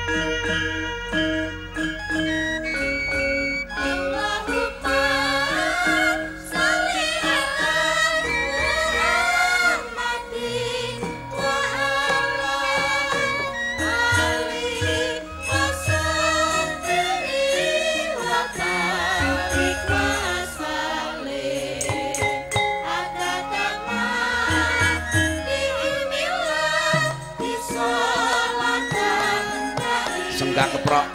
Senggak keprok.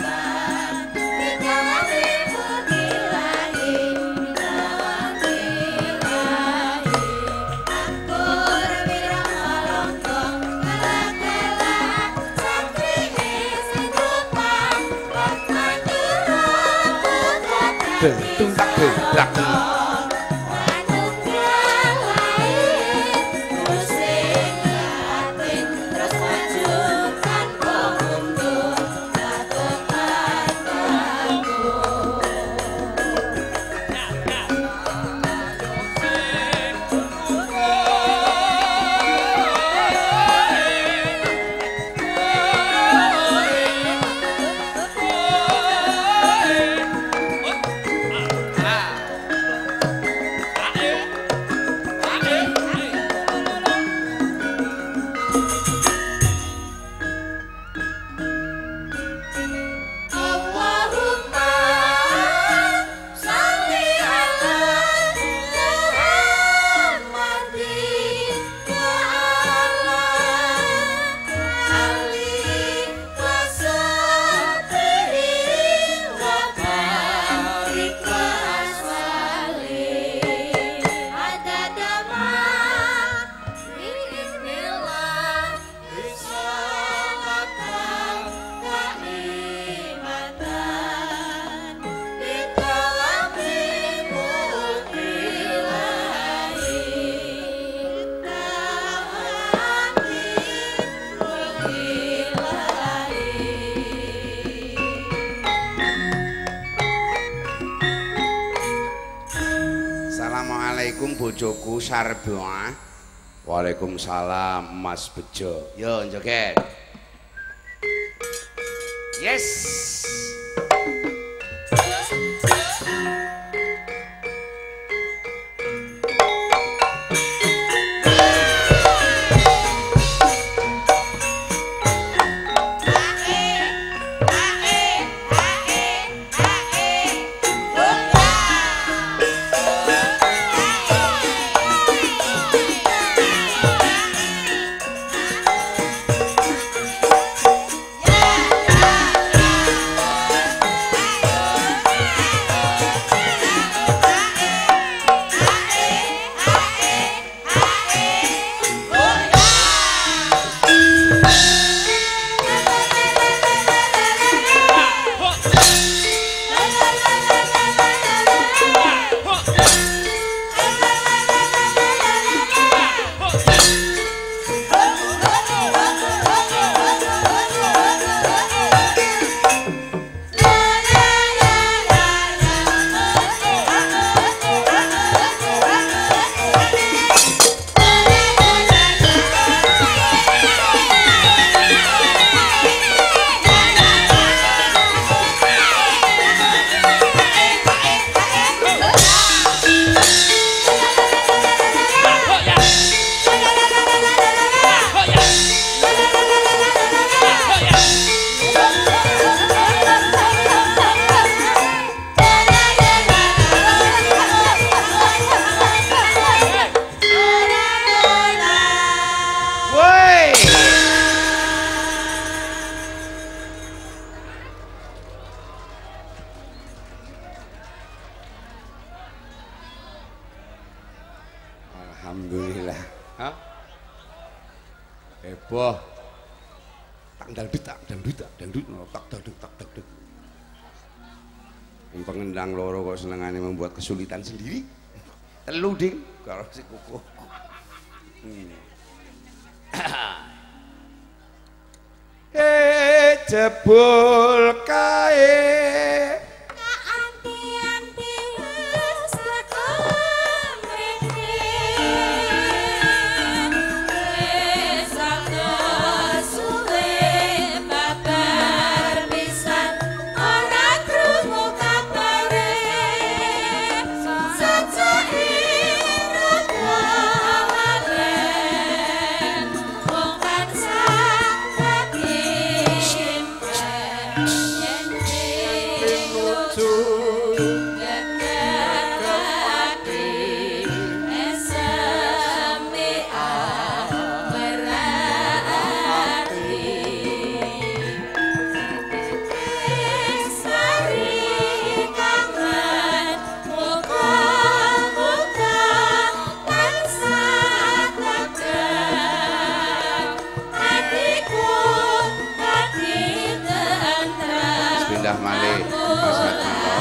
Tung tak dak. Assalamualaikum bojoku Sarboa. Waalaikumsalam Mas Bejo. Yo joget. Yes. Alhamdulillah. Hah? Heboh. Tak dangdut, tak dangdut, tak dangdut. Yang pengendang loro kok senengane membuat kesulitan sendiri. Telu ding kalau si kuku. Jebul kae. Bye. kedah malih Mas Hatmanto.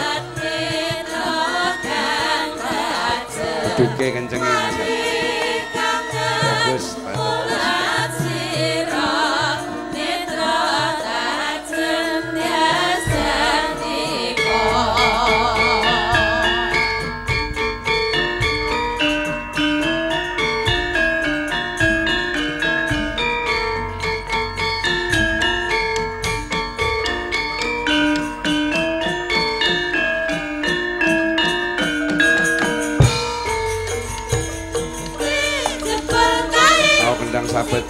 Duke kencenge Mas. Bagus, bagus. Sabet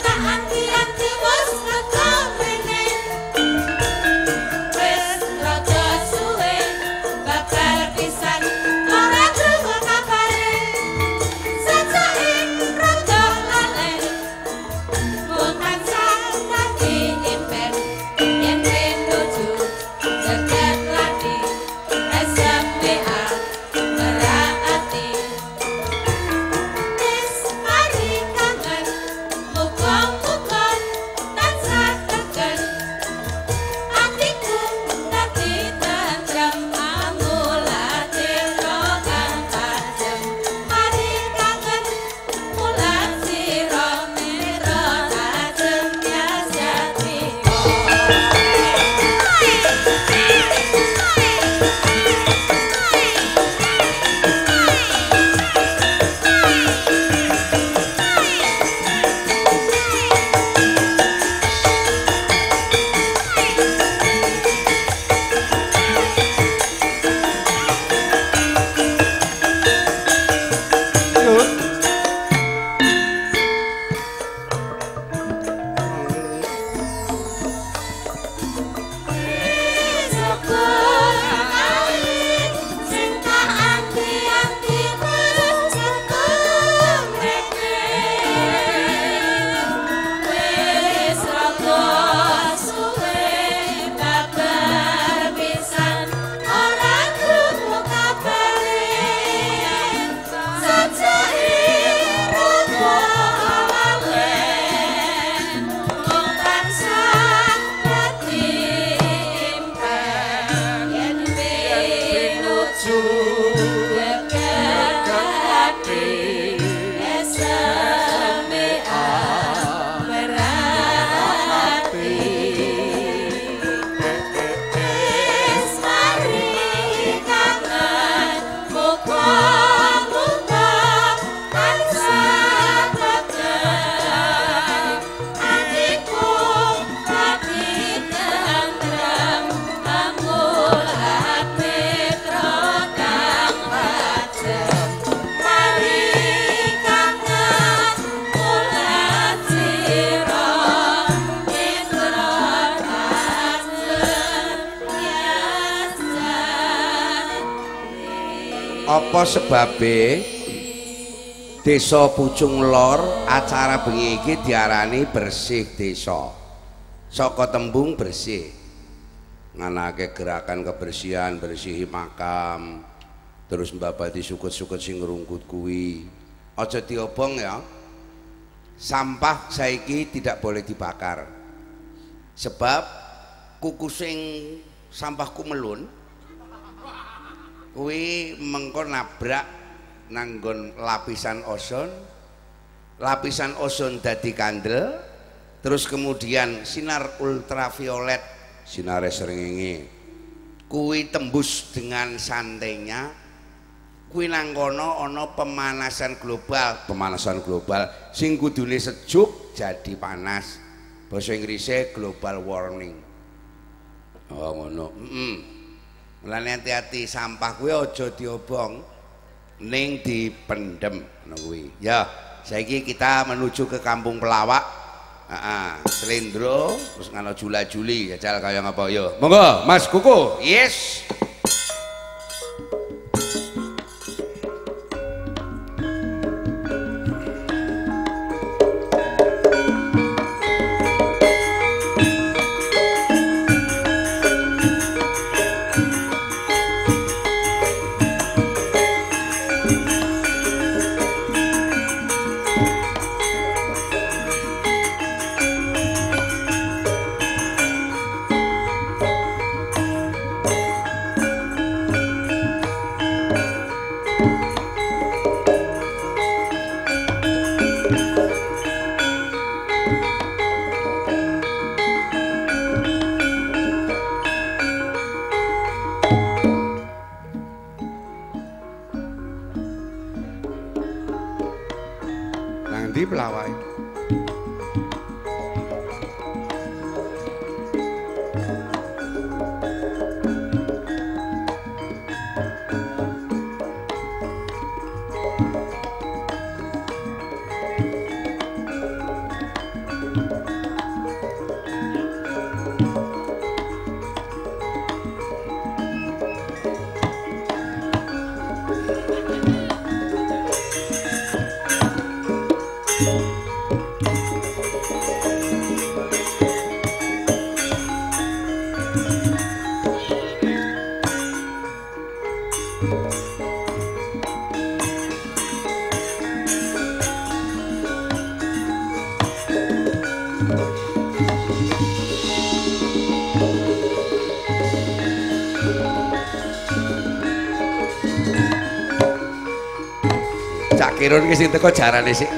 apa sebabe Desa Pucung Lor acara bengi iki diarani bersih desa. Saka tembung bersih nganake gerakan kebersihan, bersihi makam, terus mbabati sukut-sukut sing ngrungkut kuwi. Aja diobong ya. Sampah saiki tidak boleh dibakar. Sebab kuku sing sampah kumelun kuwi mengko nabrak nanggon lapisan ozon dadi kandel, terus kemudian sinar ultraviolet, sinar srengenge kuwi tembus dengan santainya, kuwi nang kono ana pemanasan global sing kudune sejuk jadi panas, basa Inggrisnya global warming. Oh ngono. Mulane hati-hati sampah kuwi aja diobong ning dipendem ngono kuwi. Ya, saiki kita menuju ke Kampung Pelawak. Slendro terus ngono jula-juli jajal kaya ngapa ya. Monggo Mas Kuku. Yes. Cak Kirun ki sing teko jarane sik.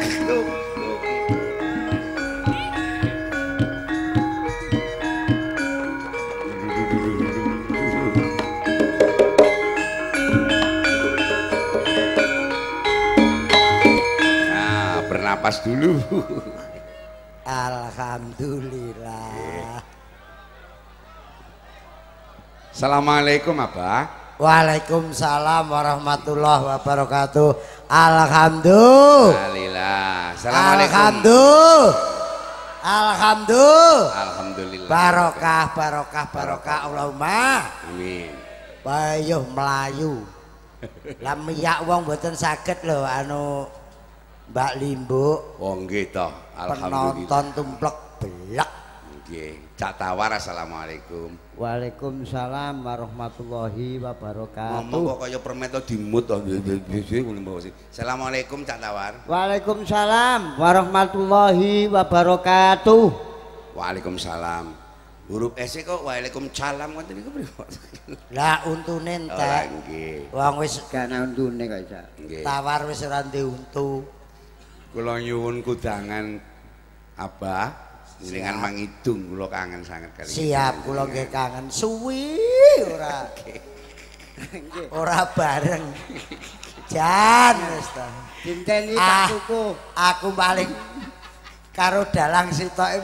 Nah, bernapas dulu. Alhamdulillah. Assalamualaikum Abah. Waalaikumsalam warahmatullahi wabarakatuh. Alhamdulillah. Assalamualaikum. Alhamdulillah. Alhamdulillah. Barokah Allahumma. Amin. Bayuh melayu. Lah miyak wong mboten saged lho anu Mbak Limbo. Oh nggih toh. Alhamdulillah. Penonton tumplek belak. Nggih. Cak Tawar assalamualaikum. Waalaikumsalam warahmatullahi wabarakatuh. Ngomong kok kaya permen to dimut to. Assalamualaikum Cak Tawar. Waalaikumsalam warahmatullahi wabarakatuh. Waalaikumsalam. Huruf S kok waalaikumsalam ngoten niku pripun? Lah untune entek. Nggih. Wong wis gana untune kok isa. Nggih. Tawar wis ora ndek untu. Kula nyuwun kudangan Abah jenengan mangidung kula kangen sanget kali. Siap kula nggih kangen suwi ora. Ora bareng. Jan wis ta. Dinteni tak tuku. Aku paling karo dalang sitoke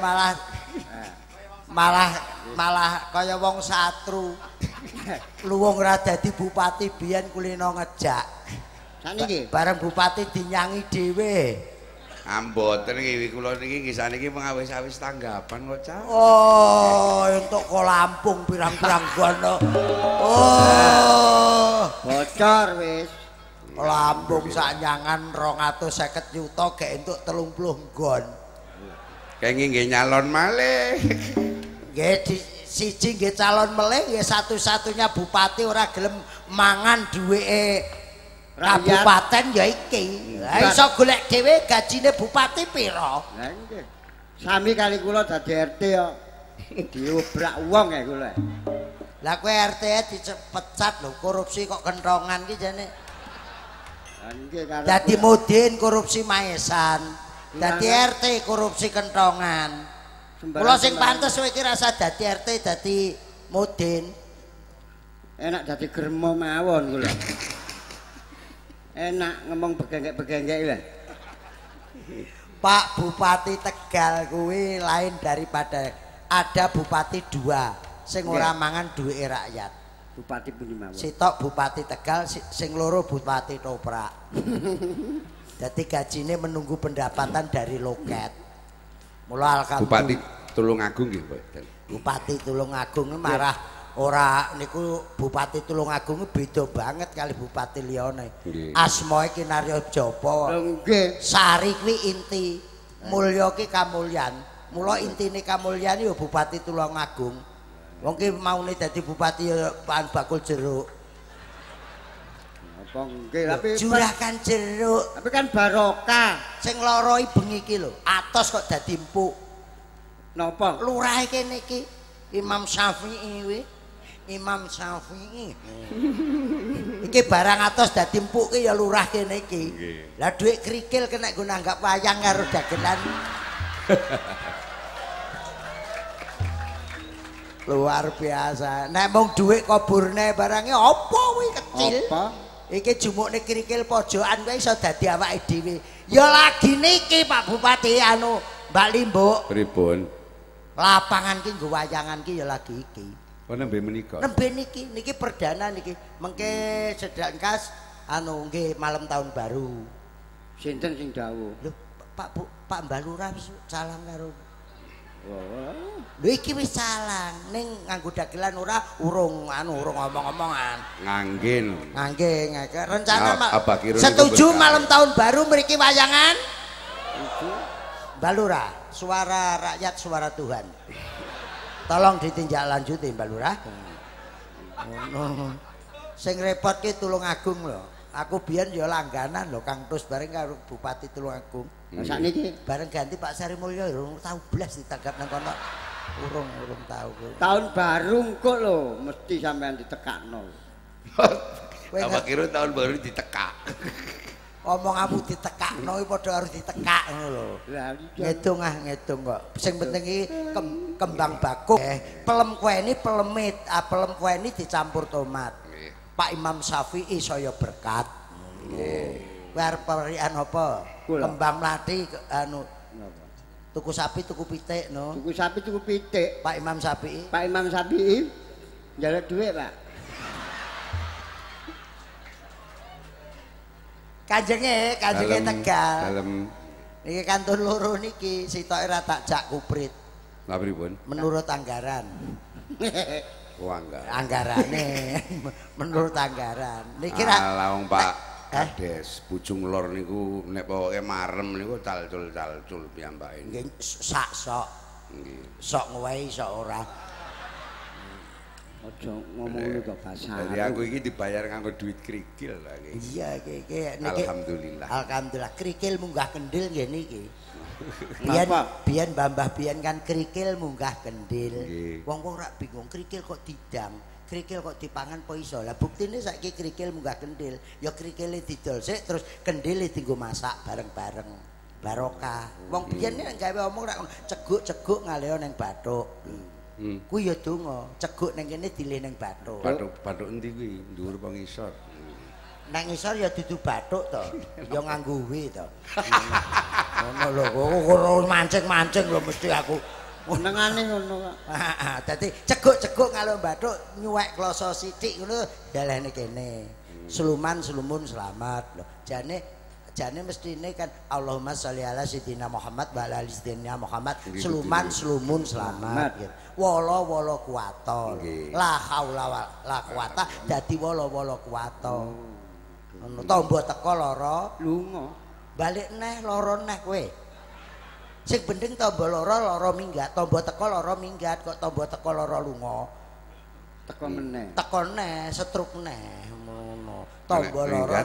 malah kaya wong satru. Luwung ora dadi bupati biyen kulino ngejak. Saniki bareng bupati dinyangi dhewe. Mboten iki kula niki kisah niki pengawis-awis tanggapan kok Cak. Oh, entuk kok Lampung pirang-pirang gono. Oh, bocor wis. Lampung saknyangan 250 juta gek entuk 30 gon. Kenging nggih nyalon malih. Nggih siji nggih calon melih nggih satu-satunya bupati ora gelem mangan duweke kabupaten ya iki. Lah iso golek dhewe gajine bupati pira? Lah nggih. Sami kali kula dadi RT kok diobrak wong ya kula. Lah kowe RT dipecat lho, korupsi kok kentongan ki jane. Lah nggih karo Dadi mudin korupsi maesan. Dadi RT korupsi kentongan. Kula sing pantes kowe iki rasa dadi RT dadi mudin. Enak dadi gremo mawon kula. Enak ngomong begengek-begengek lah. Pak Bupati Tegal kuwi lain daripada ada bupati dua sing ora mangan duwike rakyat. Bupati pundi mawon. Sitok Bupati Tegal, sing loro Bupati Toprak. Jadi gajine menunggu pendapatan dari loket. Mula alhamdulillah. Bupati Tulungagung nggih, Mboten. Bupati Tulungagung marah ora niku Bupati Tulungagung beda banget kali bupati liyane. Asmae ki Naryo Japa. Nggih. Sari kuwi inti, mulya ki kamulyan. Mula intine kamulyan ya Bupati Tulungagung. Wong ki maune dadi bupati ya Pak Bakul Jeruk. Apa nggih tapi Juragan Jeruk. tapi kan barokah. Sing lara bengi iki lho, atos kok dadi empuk. Napa? Lurahe kene iki Imam Syafi'i kuwi. Imam Syafi'i. Iki barang atos dadi empuk ki ya lurah kene iki. Lah dhuwit krikil kena nggo nanggap wayang karo dagelan. Luar biasa. Nek mung dhuwit kuburne barange apa kuwi kecil? Apa? Iki jumukne krikil pojokan kuwi iso dadi awake dhewe. Ya lagi niki Pak Bupati anu Mbak Limbuk. Pripun? Lapangan ki nggo wayangan ki ya lagi iki. Oh nembe menika. Nembe niki perdana niki. Mengke sedangkas anu nggih malam tahun baru. Sinten sing dawuh? Lho Pak Mbak Lurah wis salam karo. Oh. Lho iki wis salang ning nganggo dagelan urung ngomong-ngomongan. Ngangge. Rencana Abah Kirun setuju itu malam tahun baru mriki wayangan? Mbak Lurah, suara rakyat suara Tuhan. Tolong ditinjak lanjuti Mbak Lurah. Ngono. Sing repot ki Tulungagung lho. Aku biyen ya langganan lho Kang Tus bareng karo Bupati Tulungagung. Lah sakniki bareng ganti Pak Sari Mulyo urung tau blas ditanggap nang kono. Urung tau. Tahun baru kok lho mesti sampean ditekakno. Apa kira tahun baru ditekak. Omonganmu ditekakno padha harus ditekak ngono lho. Lah Ngedung kok. Sing penting iki kembang bakung. Pelem kueni pelemit, pelem kueni dicampur tomat. Pak Imam Syafi'i saya berkat. Nggih. Kowe arep parian apa? Kembang mlathi anu tuku sapi tuku pitik no. Tuku sapi tuku pitik. Pak Imam Syafi'i. Pak Imam Syafi'i njaluk dhuwit, Pak. Kanjenge Tegal. Dalem. Niki kantun loro niki sitoke ra tak jak kuprit. Lha pripun? Menurut anggaran. Anggarane menurut anggaran. Niki ra wong Pak Kades Bujung Lor niku nek pokoke marem niku calcul piyambake. Nggih sak sok. Nggih. Sok ngowahi sok ora. Aja ngomong ngono kok bahasa. Jadi aku iki dibayar nganggo duit krikil lah iki. Iya iki niki. Alhamdulillah. Alhamdulillah krikil munggah kendil nggih niki. Biyen Mbah biyen kan krikil munggah kendil. Wong-wong rak bingung krikil kok didang, krikil kok dipangan po iso. Lah buktine saiki krikil munggah kendil, ya krikile didol sik terus kendile dienggo masak bareng-bareng. Barokah. Wong biyen nek gawe omong rak ceguk-ceguk ngaleo ning bathuk. Kuwi ya donga, ceguk ning kene dilih ning bathuk. Bathuk endi kuwi? Dhuwur apa ngisor? Nang ngisor ya dudu bathuk to, ya nganggo W to. Ngono lho, kok mancing-mancing lho mesti aku. Nengane ngono kok. Heeh, dadi ceguk-ceguk kalau bathuk nyuwek kloso sithik ngono dalane kene. Slumun selamat lho. Jane mestine kan Allahumma sholli ala sayyidina Muhammad wa ala ali sayyidina Muhammad. Slumun selamat gitu. Wala kuwata. La haula wala quwata dadi wala kuwata. Ngono tombo teko lara lunga. Balik neh lara neh kowe. Sing penting tombo lara minggat, tombo teko lara minggat kok tombo teko lara lunga. Teko meneh. Teko neh, setruk neh ngono. Tombo lara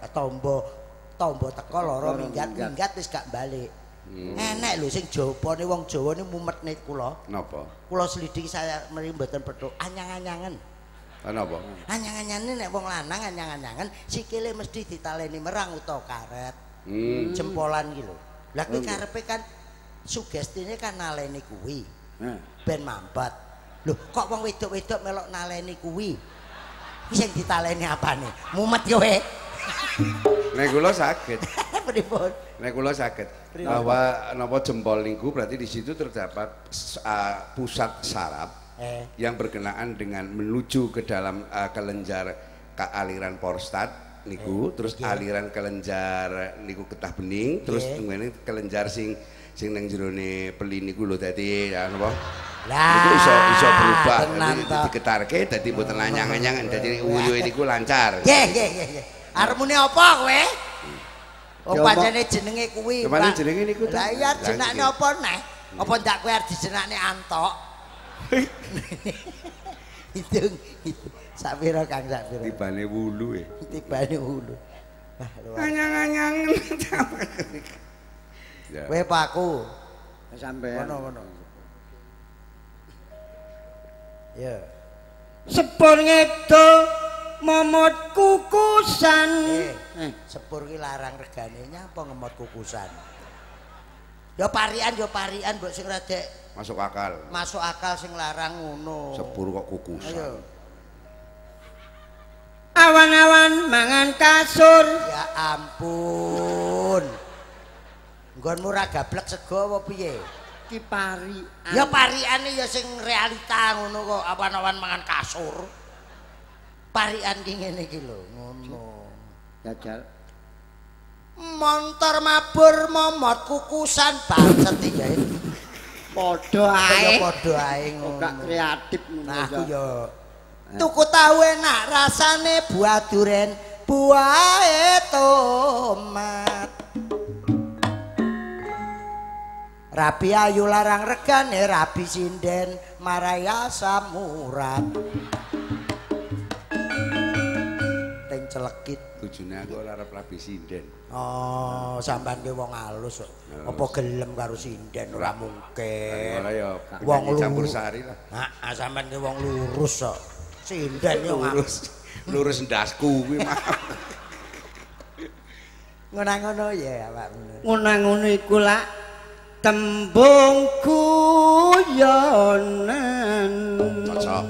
tombo teko lara minggat wis gak balik. Enek lho sing jawabane wong Jawa ni mumetne kula. Napa? Kula selidiki saya mriki mboten petuk anyang-anyangan. Napa? Anyang-anyane nek wong lanang anyang-anyangan sikile mesti ditaleni merang utawa karet. Jempolan iki lho. Lah kuwi karepe kan sugestine kan naleni kuwi. Ben mampat. Lho kok wong wedok-wedok melok naleni kuwi? Kuwi sing ditaleni apane? Mumet kowe. Nek kula saged. Pripun? Nek kula saged. Bahwa napa jempol niku berarti di situ terdapat pusat saraf yang berkenaan dengan menuju ke dalam kelenjar aliran prostat niku, terus aliran kelenjar niku getah bening, terus ngene kelenjar sing nang jerone peli niku lho dadi napa? Lah iso berubah diketarke dadi mboten anyang-anyangan dadi uyuhe niku lancar. Nggih. Arep muni apa kowe? Oh pancene jenenge kuwi. Kemane jenenge niku ta? Lah iya jenenge apa neh? Apa ndak kowe arep dijenakne Antok? Hitung. Sak pira Kang sak pira? Tibane wulu Tibane wulu. Wah, anyang-anyang. Kowe paku. Sampeyan. Ngono. Ya. Sepur ngedo momot kukusan. Sepur ki larang regane nyapa ngemot kukusan. Ya parian mbok sing radek masuk akal. Masuk akal sing larang ngono. Sepur kok kukusan. Ayo. Awan-awan mangan kasur. Ya ampun. Nggonmu ra gablek sego apa piye? Ki pari. Ya pariane ya sing realita ngono kok awan-awan mangan kasur. Parian ki ngene iki lho, ngono. Jajal. Montor mabur momot kukusan banget iki ya. Padha ae. Padha ae ngono. Gak kreatif ngono. Nah, aku ya tuku tahu enak rasane buah duren, buah tomat. Rabi ayu larang regane rabi sinden maraya samurat. Teng celekit. Bojone aku ora arep rabi sinden. Oh, sampean ki wong alus kok. Apa gelem karo sinden ora mungkin. Ora ya wong campur sari lah. Heeh, sampean ki wong lurus kok. Sinden yo lurus ndasku kuwi mah. Ngono-ngono ya awakmu. Ngono iku lak tembung guyonan. Cocok.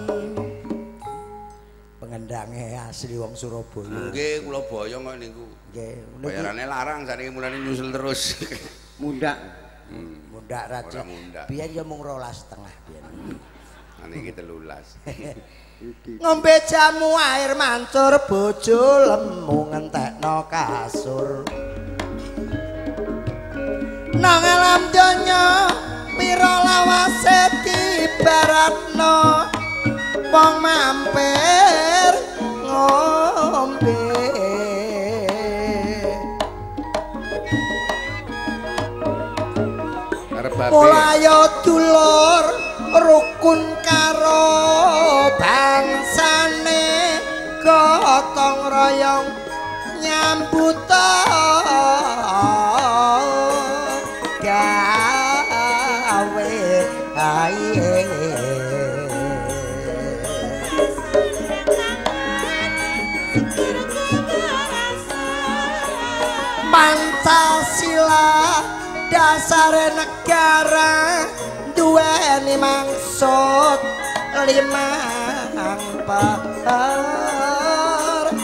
Pengendange asli wong Surabaya. Nggih, kula boyo kok niku. Nggih, bayarane larang saniki mulane nyusul terus. Mundak. Mundak raja. Biyen ya mung 12,5 biyen. Niki 13. Ngombe jamu air mancur bojo lemu ngentekno kasur. Nang alam donya pira lawase dibaratno wong mampir ngombe. Mulaya dulur rukun karo bangsane gotong royong nyambut gawe ae. Pancasila dasare negara duweni maksud limang perkara.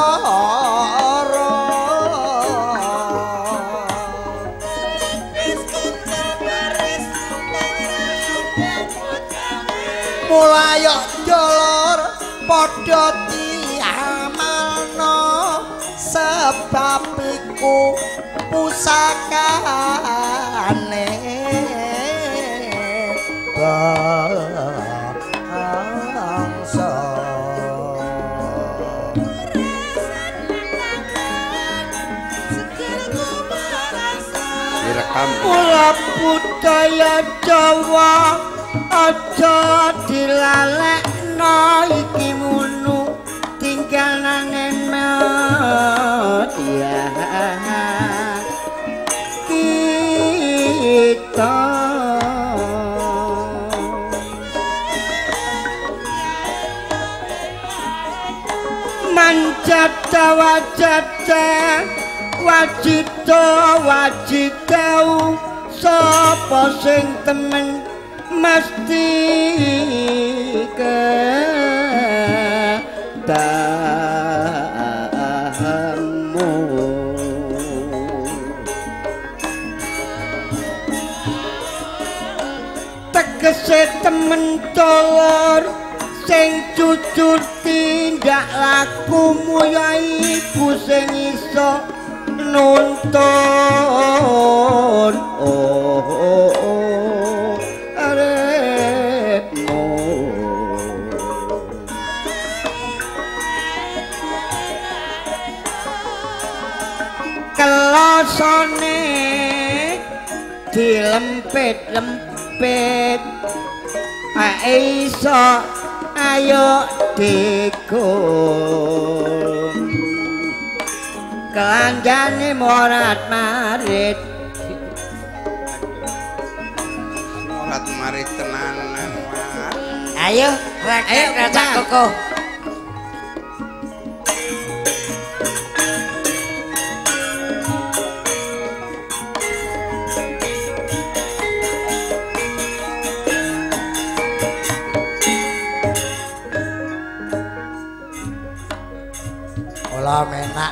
Mulai dulur padha diamalno sebab iku pusakane bangsa. Direkam. Mula budaya Jawa aja dilalekno iki munu tinggalane ya kita manjata wajata wajito wajitau sapa sing temen mesti ketahamu. Tegese temen dulur sing jujur tindak lakumu ya iku sing iso nuntun arepmu. Kelosone dilempit-lempit iso ayo dikul kelanjane morat marit tenanan. Ayo racak koko. Olah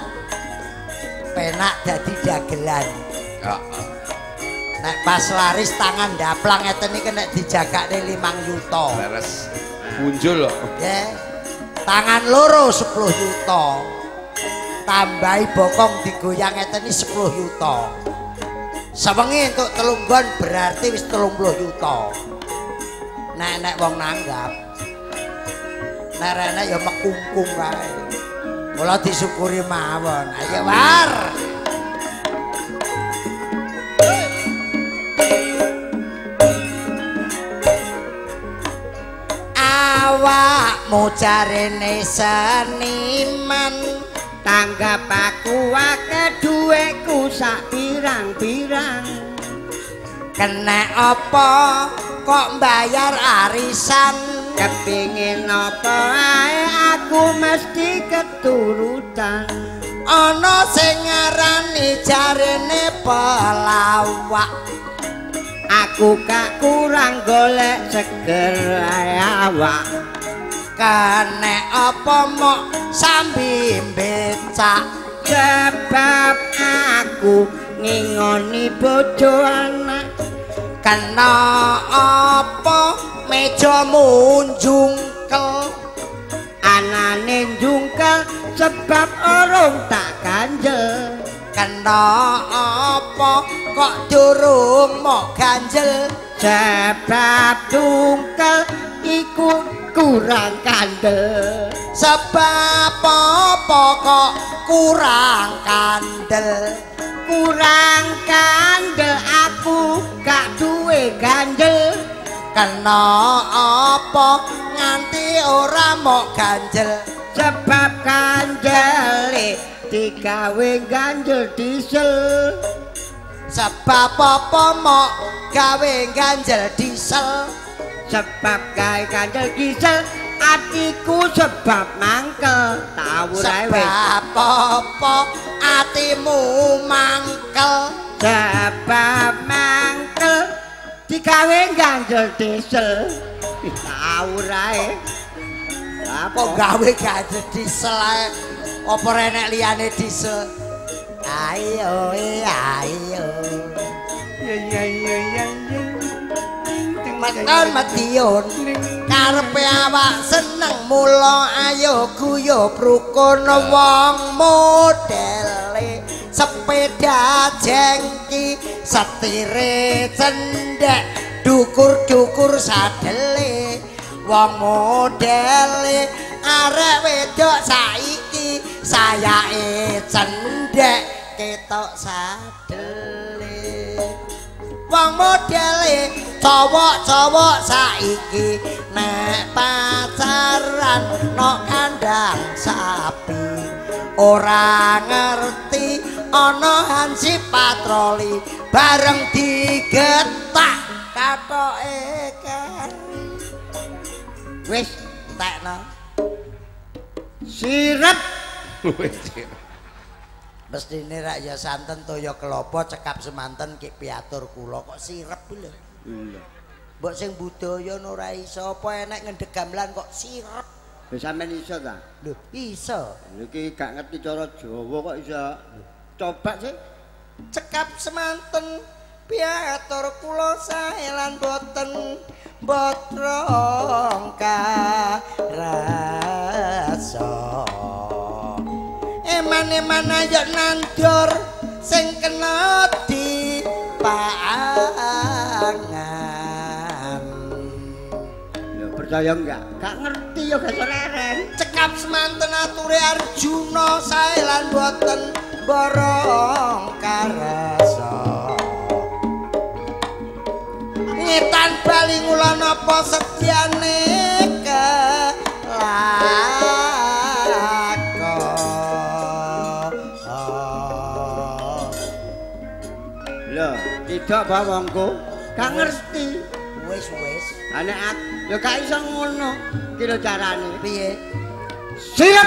penak dadi dagelan. Heeh. Nek pas laris tangan daplang ngeten iki nek dijagakne 5 yuta. Leres punjul kok. Nggih. Tangan loro 10 yuta. Tambahi bokong digoyang ngeten iki 10 yuta. Sewengi entuk 3 nggon berarti wis 30 yuta. Nek wong nanggap. Nek rene ya mekungkung wae. Mula disyukuri mawon. Ayo war. mujarene seniman tanggap aku akeh duweku sak pirang-pirang kena apa kok bayar arisan kepingin apa ae aku mesti keturutan ana sing ngarani jarene pelawak aku gak kurang golek seger awak kene apa mok sambi becak sebab aku ngingoni bojo anak kena apa meja munjungkel anane njungkel sebab orong tak ganjel kena apa kok durung mok ganjel sebab dungkel iku kurang kandel sebab apa kok kurang kandel aku gak duwe ganjel kena apa nganti ora mok ganjel sebab ganjele digawe ganjel diesel sebab apa mok gawe ganjel diesel sebab gawe ganjel diesel atiku sebab mangkel tau sebab apa atimu mangkel sebab mangkel digawe ganjel diesel tau rae apa gawe ganjel diesel ae apa renek liyane diesel ayo ayo Matan Madiun karepe awak seneng mula ayo guyub rukun wong modele sepeda jengki setire cendhek dukur-dukur sadele wong modele arek wedok saiki sayake cendhek ketok sadele wong modele cowok-cowok saiki nek pacaran nok kandang sapi ora ngerti ana hansip patroli bareng digetak katoke kan wis tekno sirep mestine rak ya santen toya kelapa cekap semanten ki piatur kula kok sirep lho. Mbok sing budaya ora iso apa enek ngendhek gamelan kok sirep. Wis sampean iso ta? Lho, iso. Iki gak ngerti cara Jawa kok iso. Coba sih. Cekap semanten piatur kula sae lan boten botrong karasa. Eman-eman ayo nandur sing kena di pangan. Ya percaya enggak? Gak ngerti ya gak leren. Cekap semanten ature Arjuna sae lan boten borong karasa. Ngetan bali ngulon apa sedyane tidak bawangku gak ngerti wis anek ya gak iso ngono iki lho carane piye siap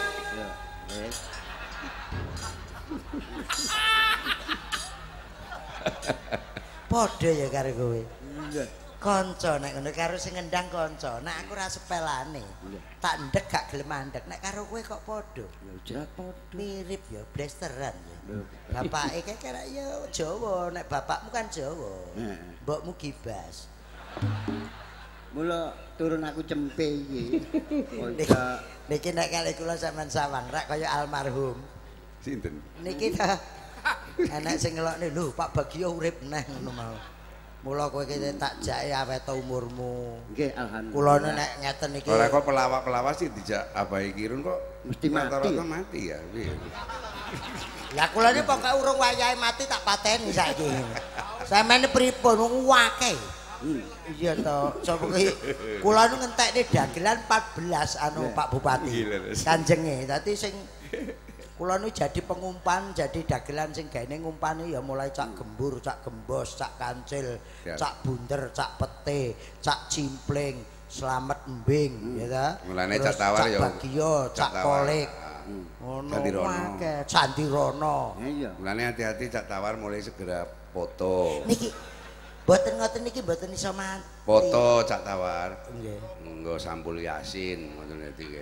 padha ya karo kowe kanca nek ngono karo sing ngendang kanca nek aku ora sepelane tak ndek gak gelem mandek nek karo kowe kok padha ya jelas padha mirip ya blasteran ya bapake kira ya Jawa nek bapakmu kan Jawa mbokmu Gibas mula turun aku cempe iki niki nek kali kula sampean sawang rak kaya almarhum sinten niki ta enek sing ngelokne lho Pak Bagio urip neh ngono mau mula kowe iki tak jake awet umurmu nggih alhamdulillah kula nek ngeten iki ora kok pelawak-pelawak sih dijak abahe kirun kok mesti mati mati ya piye lah kula iki pokoke urung wayahe mati tak pateni saiki sampeyan pripun wong akeh Iya to, sapa ki kula nu ngentekne dagelan 14 anu Pak Bupati. Kanjenge. Dadi sing kula nu jadi pengumpan, jadi dagelan sing gaene ngumpane ya mulai cak gembur, cak gembos, cak kancil, cak bunder, cak pete, cak cimpling, slamet embing, ya ta. Mulane cak tawar ya. Cak bagio, cak kolik. Ngono akeh, Candirono. Iya. Mulane hati-hati cak tawar mulai segera foto. Niki mboten ngoten niki mboten iso mati. Foto cak tawar. Nggih. Nggo sampul Yasin ngoten iki.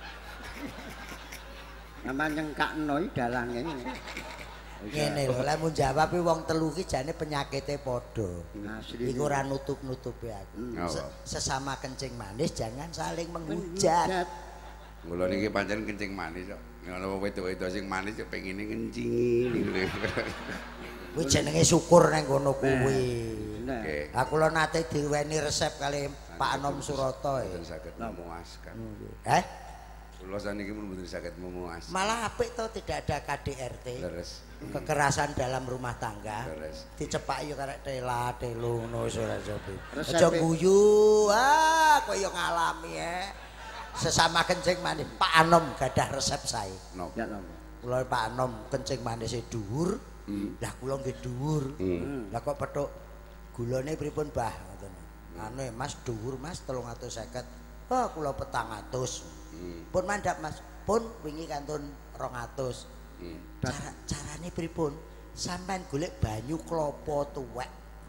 Nama nyengkakno iki dalange. Ngene lho, lek mun jawab wong telu ki jane penyakite padha. Asli. Iku ora nutup-nutupi aku. Sesama kencing manis jangan saling menghujat. Mula niki pancen kencing manis kok. Nek ana wedok-wedok sing manis kok pengine ngencingi. Kuwi jenenge syukur nang kono kuwi. Oke. Aku lho nate diweni resep kali Pak Anom Surata. Mboten saged memuaskan. Kula saniki pun mboten saged memuaskan. Malah apik to tidak ada KDRT. Leres. Kekerasan dalam rumah tangga. Leres. Dicepak yo karek tela telu ngono wis ora sopi. Resepe. Aja guyu, koyo ngalami Sesama kencing manis Pak Anom gadah resep sae. Napa? Ya napa? Kula Pak Anom kencing manis dhuwur. Lah kula nggih dhuwur. Lah kok petuk gulane pripun, Bah? Ngoten. Anu Mas dhuwur Mas 350. Oh, kula 400. Pun mandhap Mas. Pun wingi kantun 200. Carane pripun? Sampeyan golek banyu klapa tuwek.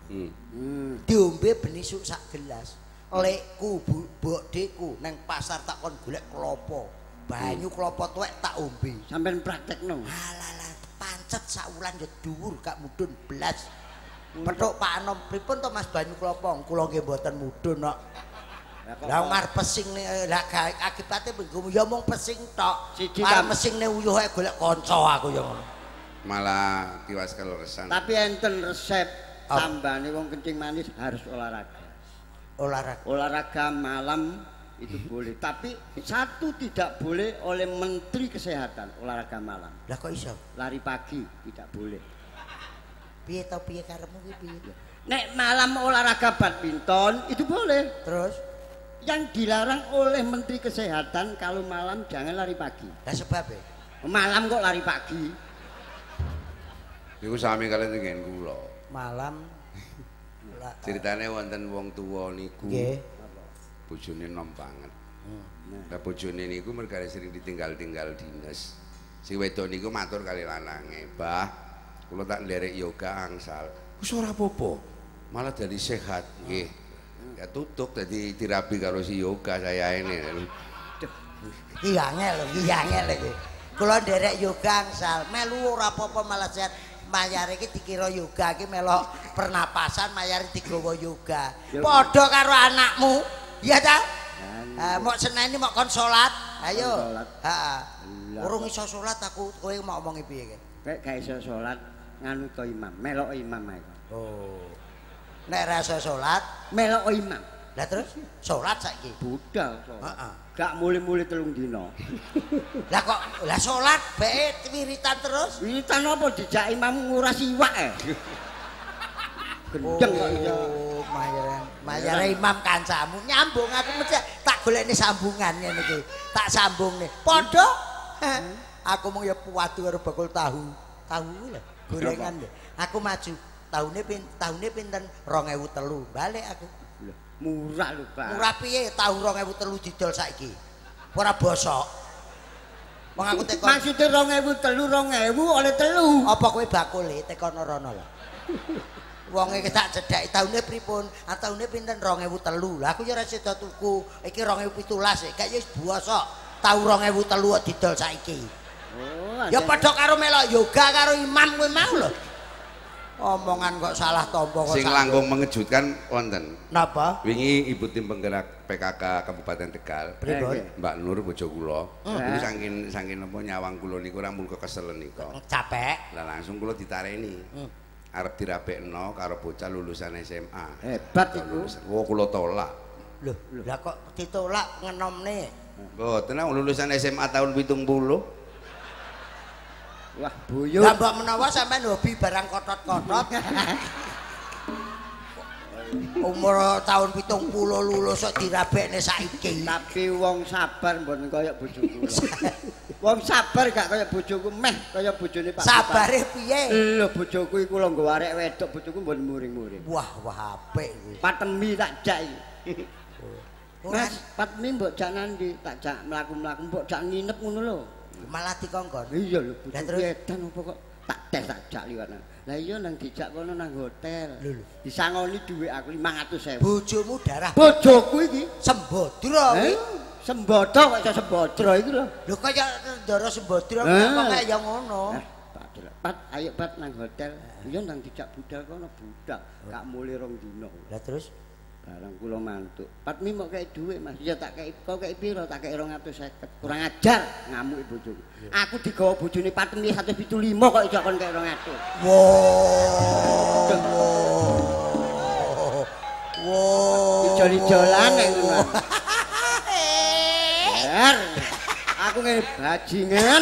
Diombe benisuk sak gelas. Lekku bodheku nang pasar tak kon golek klapa. Banyu klapa tuwek tak ombe. Sampeyan praktekno. Alah pancet sak wulan yo dhuwur gak mudhun blas. Petuk Pak Anom pripun to Mas banyu klapa? Kula nggih mboten mudhun kok. Lah ngarep pesing lah akibate ya mung pesing tok. Arep mesingne uyuh ae golek kanca aku yo ngono. Malah tiwas kaleresan. Tapi enten resep tambane wong kencing manis harus olahraga. Olahraga malam itu boleh, tapi satu tidak boleh oleh Menteri Kesehatan olahraga malam. Lah kok iso? Lari pagi tidak boleh. Piye to piye karepmu ki piye? Nek malam olahraga badminton itu boleh. Terus Yang dilarang oleh Menteri Kesehatan kalau malam jangan lari pagi. lah sebabnya? Malam kok lari pagi? Iku sami kalian dengan kula. Malam Ceritane wonten wong tuwa niku. Nggih. Bojone nom banget. Lah bojone niku mergane sering ditinggal-tinggal dinas. Si wedok niku matur kali lanange, "Mbah, kula tak nderek yoga angsal." Wis ora apa-apa. Malah jadi sehat nggih. Ya tutuk dadi terapi karo si yoga saya ini. Iki angel iki. Kula nderek yoga angsal, melu ora apa-apa malah sehat. Mayar iki dikira yoga iki melok pernapasan, mayar digawa yoga. Padha karo anakmu. Iya ta? Mok seneni mok kon salat. Ayo. Heeh. Urung iso salat aku kowe mau omongi piye iki? Kayak gak iso salat nganu to imam, melok imam ae. Oh. Nek ra iso salat, Melok imam. lah terus salat saiki. Budal. Heeh. Gak muli-muli 3 dina. Lah kok lah salat bae wiritan terus? Wiritan apa dijak imam nguras iwak Gendeng kok iso. Oh, mayare imam kancamu nyambung aku mesti tak golekne sambungan ngene iki. Tak sambungne. Padha. Aku mung ya puwadu karo bakul tahu. Tahu lho, gorengan lho. Aku maju. Tahune pinten 2003 balik aku. Murah lho, Pak. Murah piye tahun 2003 didol saiki? Ora bosok. Wong aku tekon. Maksude 2003 oleh 3. Apa kowe bakule tekon rono lho. Wong iki tak cedhaki taune pripun? Taune pinten 2003. Lah aku ya ora sida tuku. Iki 2017 gak ya wis bosok. Tahun 2003 didol saiki. Oh, ya padha karo melok yoga karo imam kowe mau lho. Omongan kok salah tompo kok. Sing langkung mengejutkan wonten. Napa? Wingi Ibu Tim Penggerak PKK Kabupaten Tegal, Mbak Nur bojo kula. Niku saking napa nyawang kula niku ora mul kekeselen nika. Capek. Lah langsung kula ditareni. Arep dirapekno karo bocah lulusan SMA. Hebat iku. Wo kula tolak. Loh, lah kok ditolak ngenomne? Mboten lulusan SMA tahun 70. Wah, buyut. Lah mbok menawa sampean hobi barang kotot-kotot. Umur tahun 70 lulus kok dirabekne saiki. Tapi wong sabar mboten kaya bojoku. Wong sabar gak kaya bojoku meh kaya bojone Pak. Sabare piye? Lho bojoku iku lho nggo arek wedok bojoku mboten muring-muring. Wah apik kuwi. Patemi tak jak iki. Mas, patemi mbok jak nandi, tak jak mlaku-mlaku mbok jak nginep ngono lho. Malah dikongkon. Iya lho bojoku edan apa kok tak tes tak jak liwat. Lah iya nang dijak kono nang hotel. Disangoni dhuwit aku 500.000. Bojomu darah. Bojoku iki Sembodra kuwi. Sembodra kok iso sembodra iki lho. Lho kaya ndara sembodra kok kaya ya ngono. Pat ayo Pat nang hotel. Iya nang dijak budal kono budal. Gak mulih 2 dina. Lah terus barang kula mantuk. Patmi mok kei dhuwit Mas. Ya tak kei kok kei piro? Tak kei 250. Kurang ajar ngamuk bojoku. Aku digawa bojone Patmi 175 kok iso kon kei 200. Wow. Ijol-ijolan nek ngono. Aku ngene bajingan.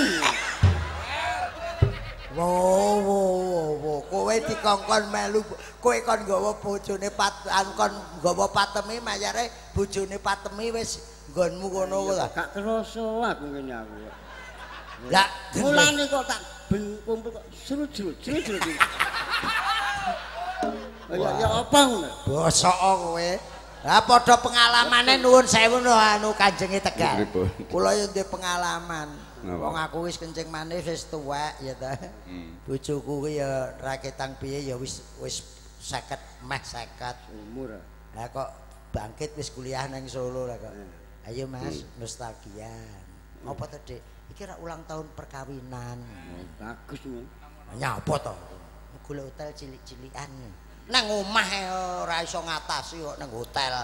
Wow, kowe dikongkon melu, kowe kon nggawa bojone kon nggawa Patemi mayare bojone Patemi wis nggonmu kono lho. Gak kerasa aku ngene aku. Lah, mulane kok tak ben kumpul kok seru-seru. Ya apa ngono? Bosok kowe. Lah padha pengalamane nuwun sewu anu Kanjenge Tegal. Kula yo ndek pengalaman. Wong aku wis kencing manis wis tuwek ya ta. Bojoku kuwi ya raketang piye ya wis 50 meh 50 umur. Lah kok bangkit wis kuliah nang Solo lah kok. Ayo Mas, nostalgia. Apa to, Dik? Iki ra ulang tahun perkawinan. Bagus nih. Nyapa to? Golek hotel cilik-cilikan. Nang omah ora iso ngatasi kok nang hotel.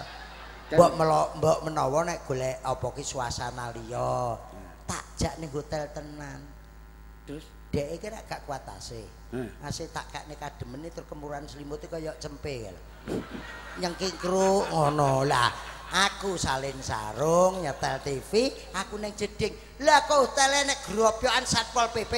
Mbok menawa nek golek apa ki suasana liya. Tak jak ning hotel tenan. Terus dhek iki rak gak kuat AC. AC tak kakne kademene terus kemuran selimute kaya cempe lho. Nyengkikru ngono lah. Aku salin sarung nyetel TV, aku ning jeding. Lah kok hotel nek grobyokan Satpol PP.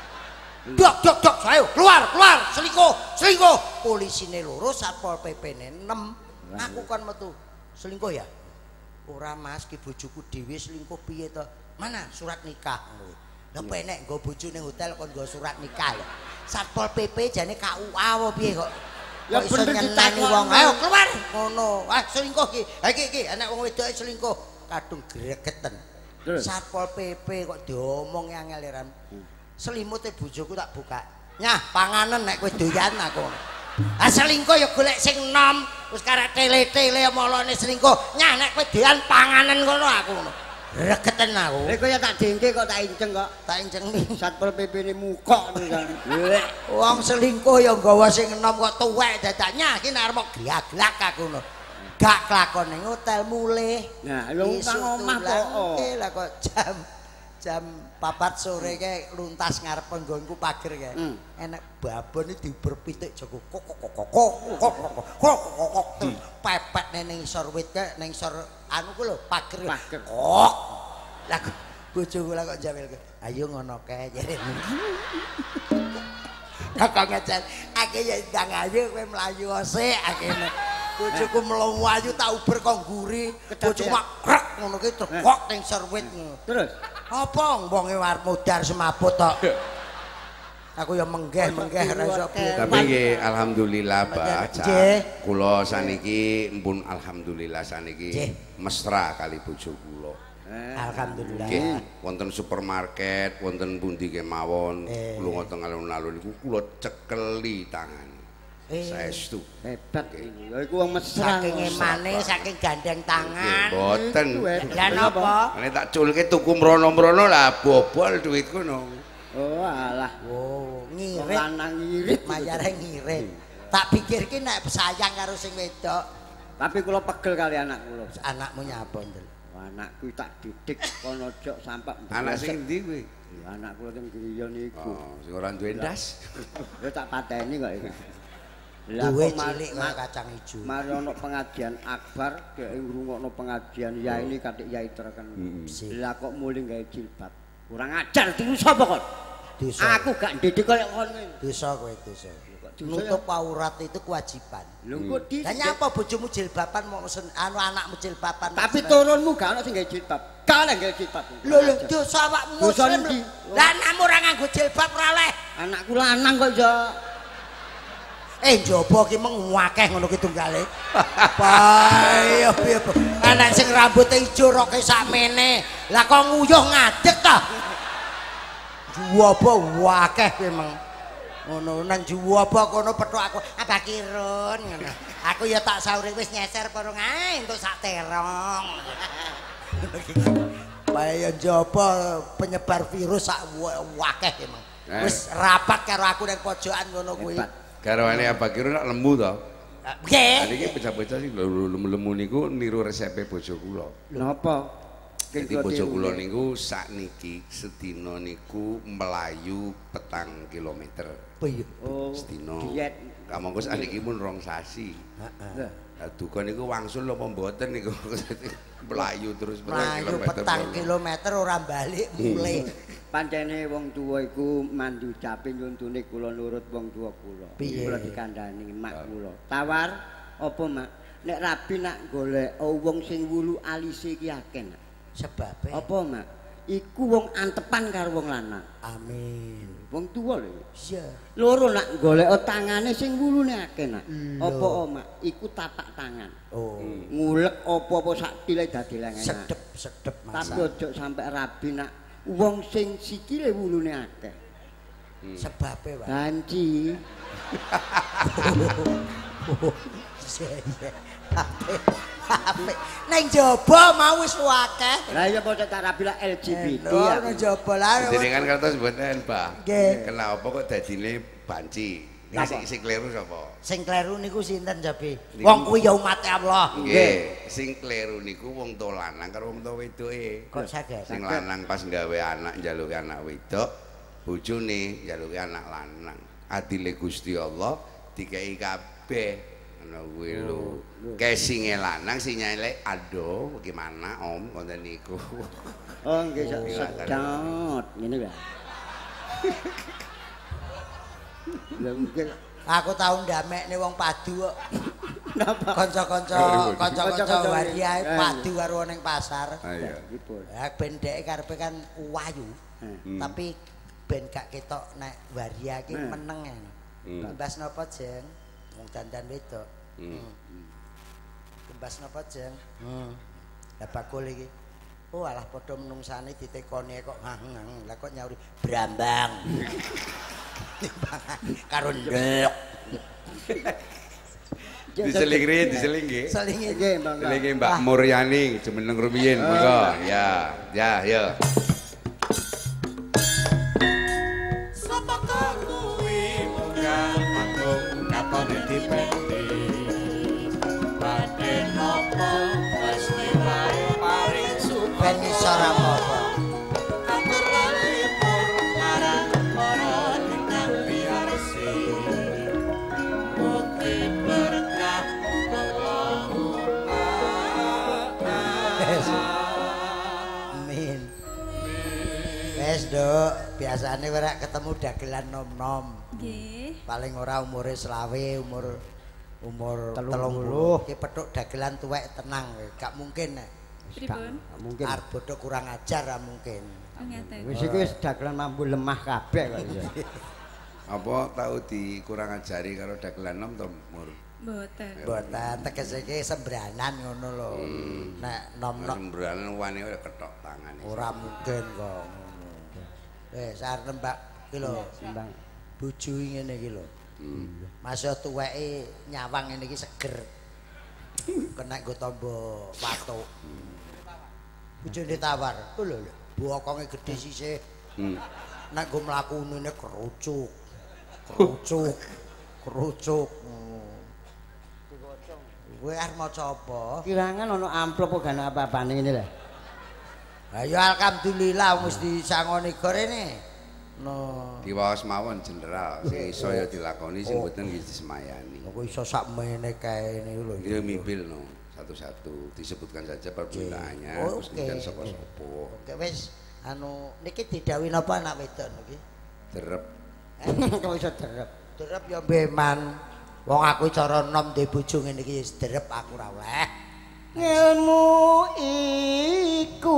Dok, ayo keluar, selingkuh. Polisine loro, Satpol PP-ne 6. Aku kon metu. Selingkuh ya? Ora Mas, ki bojoku dhewe selingkuh piye to? Mana surat nikah? Lah penek nggo bojo ning hotel kon nggo surat nikah lho. Satpol PP jane KUA apa piye kok? Ya bener ditani wong. Ayo keluar. Ngono. Ah selingkuh ki. Ha iki anak wong wedoke selingkuh. Kadung gregeten. Satpol PP kok diomong angel ran. Selimute bojoku tak buka. Nyah, panganen nek kowe doyan aku. Ah selingkuh ya golek sing enom. Wis karek tele-tele molone selingkuh. Nyah nek kowe doyan panganen ngono aku ngono. Regeten aku. Lha kaya tak dengke kok tak inceng kok. Tak inceng Satpol PP-ne mukok kan. Wong selingkuh ya nggawa sing enom kok tuwek dadaknya iki nek arep glak-glak aku ngono. Gak kelakon ning hotel mulih. Nah, wong nang omah kok. Lah kok jam 4 sore kae luntas ngarep penggonku pager kae. Enek babon iki diuber pitik Joko kok pepet ning isor wit kae ning isor anu ku lho pager. Kok. Lah bojoku lah kok jawelke. Ayo ngono kae jare. Kakak ngecen, aku ya ndang ayo kowe mlayu sik akene. Bojoku mlayu ayu tak uber kok nguri. Bojoku mak krek ngono ki kok ning isor wit. Terus apa wonge war modar semaput tok. Aku ya menggeh ora iso piye. Tapi nggih alhamdulillah Pak. Kula saniki mpun alhamdulillah saniki mesra kali bojo kula. Alhamdulillah. Nggih, wonten supermarket, wonten pundi kemawon, lunga teng alun-alun niku kula cekeli tangan. Saestu. Hebat iki. Ya iku wong mesra. Saking emane, saking gandeng tangan. Mboten. Lah napa? Nek tak culke tuku mrono-mrono lah bobol duitku no. Oh alah. Oh, ngirit. Lanang ngirit, mayare ngirit. Tak pikirke nek sayang karo sing wedok. Tapi kula pegel kali anak kula. Anakmu nyapa, Ndel? Anakku tak didik kono jok sampak. Anak sing ndi kuwi? Anak kula teng griya niku. Oh, sing ora duwe ndas. Ya tak pateni kok iki. Duwe cilik kaya kacang ijo. Mari ana pengajian akbar, dhek ngrungokno pengajian ya ini katik yai terken. Lah kok muling gawe jilbab. Kurang ajar diru sapa kok? Dosa. Aku gak ndidik kaya ngono. Dosa kowe dosa. nutup aurat itu kewajiban. Lho kok di. Lah nyapa bojomu jilbaban mau anakmu jilbaban. Tapi turunmu gak ono sing gawe jilbab. Gak gawe jilbab. Lho dosa awakmu muslim. Lah anakmu ora nganggo jilbab ora oleh. Anakku lanang kok ya. Njaba ki mung akeh ngono ki tunggale. Bae piye. Anak sing rambute ijo roke sakmene. Lah kok nguyuh ngadeg ta? Juwaba akeh ki meng. Ngono nang juwaba kono pethuk aku Abah Kirun ngono. Aku ya tak sauri wis nyeser porong ae entuk sak terong. Bae ya njaba penyebar virus sak akeh ki meng. Wis rapat karo aku nang pojokan ngono kuwi. Garwane Abah Kirun nak lembu to? Nggih. Niki bocah-bocah sing lemu niku niru resepe bojo kula. Napa? Jadi bojo kula niku sakniki sedina niku melayu 4 kilometer. Piye? Oh, sedina. Diet. Kamangka sakniki pun 2 sasi. Heeh. Lah duka niku wangsul apa mboten niku melayu terus 4 kilometer. 4 kilometer ora balik mulai. Pancene wong tuwa iku mandu jape nyuntune kula nurut wong tuwa kula. Kula dikandhani mak kula. Tawar apa mak? Nek rabi nak golek wong sing wulu alise iki akeh. Sebabe apa mak? Iku wong antepan karo wong lanang. Amin. Wong tuwa lho. Iya. Loro nak golek tangane sing wulune akeh nak. Apa mak? Iku tapak tangan. Oh. Ngulek apa-apa sak tile dadi lengen. Sedep Mas. Tapi ojo sampai rabi nak wong sing sikile wulune akeh. Sebabe, Pak. Banci. Apik. Nang jaba mau wis akeh. Lah iya padha tak rabi lah LGBT. Nang jaba lah. Jenengan kertas mboten, Mbah. Nggih. Kenapa kok dadine banci? Sing kleru sapa? Sing kleru niku sinten Jabe? Wong kuwi ya umat Allah. Nggih, sing kleru niku wong tuwa lanang karo wong tuwa wedoke. Kok saged? Sing lanang pas gawe anak njaluki anak wedok, bojone njaluki anak lanang. Adile Gusti Allah dikei kabeh. Ngono kuwi lho. Kesinge lanang sinyale aduh gimana Om ngoten niku. Oh nggih sedot ngene ya. Aku tau ndamekne wong padu kok. Napa? Kanca-kanca waria padu karo ning pasar. Iya. Ya ben dhek karepe kan wayu. Tapi ben gak ketok nek waria iki meneng. Kembas napa, Jeng? Wong dandan wedok. Kembas napa, Jeng? Lah bakul iki. Oh alah padha menungsane ditekoni kok ngang. Lah kok nyauri Brambang. Karo ndek. Diseling nggih. Selinge nggih, Mbak. Selinge Mbak Muryani jumeneng rumiyin monggo. Ya, ya. Sapa kuwi munggah agung katone dipendi. Badhe napa Gusti wae paring suka. Ben iso ra apa-apa. Dok, biasane ora ketemu dagelan nom-nom. Nggih. Paling ora umure selawe, umur 30. Ki petuk dagelan tuwek tenang, gak mungkin nek. Pripun? Mungkin. Arep bodho kurang ajar ra mungkin. Oh ngeten. Wis iki wis dagelan mambu lemah kabeh kok ya. Apa tau dikurang ajari karo dagelan nom to, Mur? Mboten. Mboten tegese iki sembranan ngono lho. Nek nom-nom Sembranan wani ora ketok tangane. ora mungkin kok. Sarep Mbak iki lho, Simbang. bojo ngene iki lho. Masih tuweke nyawang ngene iki seger. Kena nggo tombo watuk. Bojone tawar. Oh lho, bokonge gedhe sisih. Nek nggo mlaku ngene kerucuk. Kerucuk. Kowe arep maca apa? Kirangan ana amplop kok gak ana apa-apane ngene lho. Lah ya alhamdulillah wis disangoni gorene. No. Diwaos mawon jenderal, sing iso ya dilakoni sing mboten nggih disemayani. Kok iso sakmene kae niku lho. Ya mimbil no satu-satu disebutkan saja perbedaannya terus kemudian sapa-sapa. Oke wis niki didhawuhi napa anak wedok niki? Derep. Kok iso derep. Derep ya mbeman. Wong aku cara enom duwe bojo ngene iki derep aku ora oleh. Ilmu iku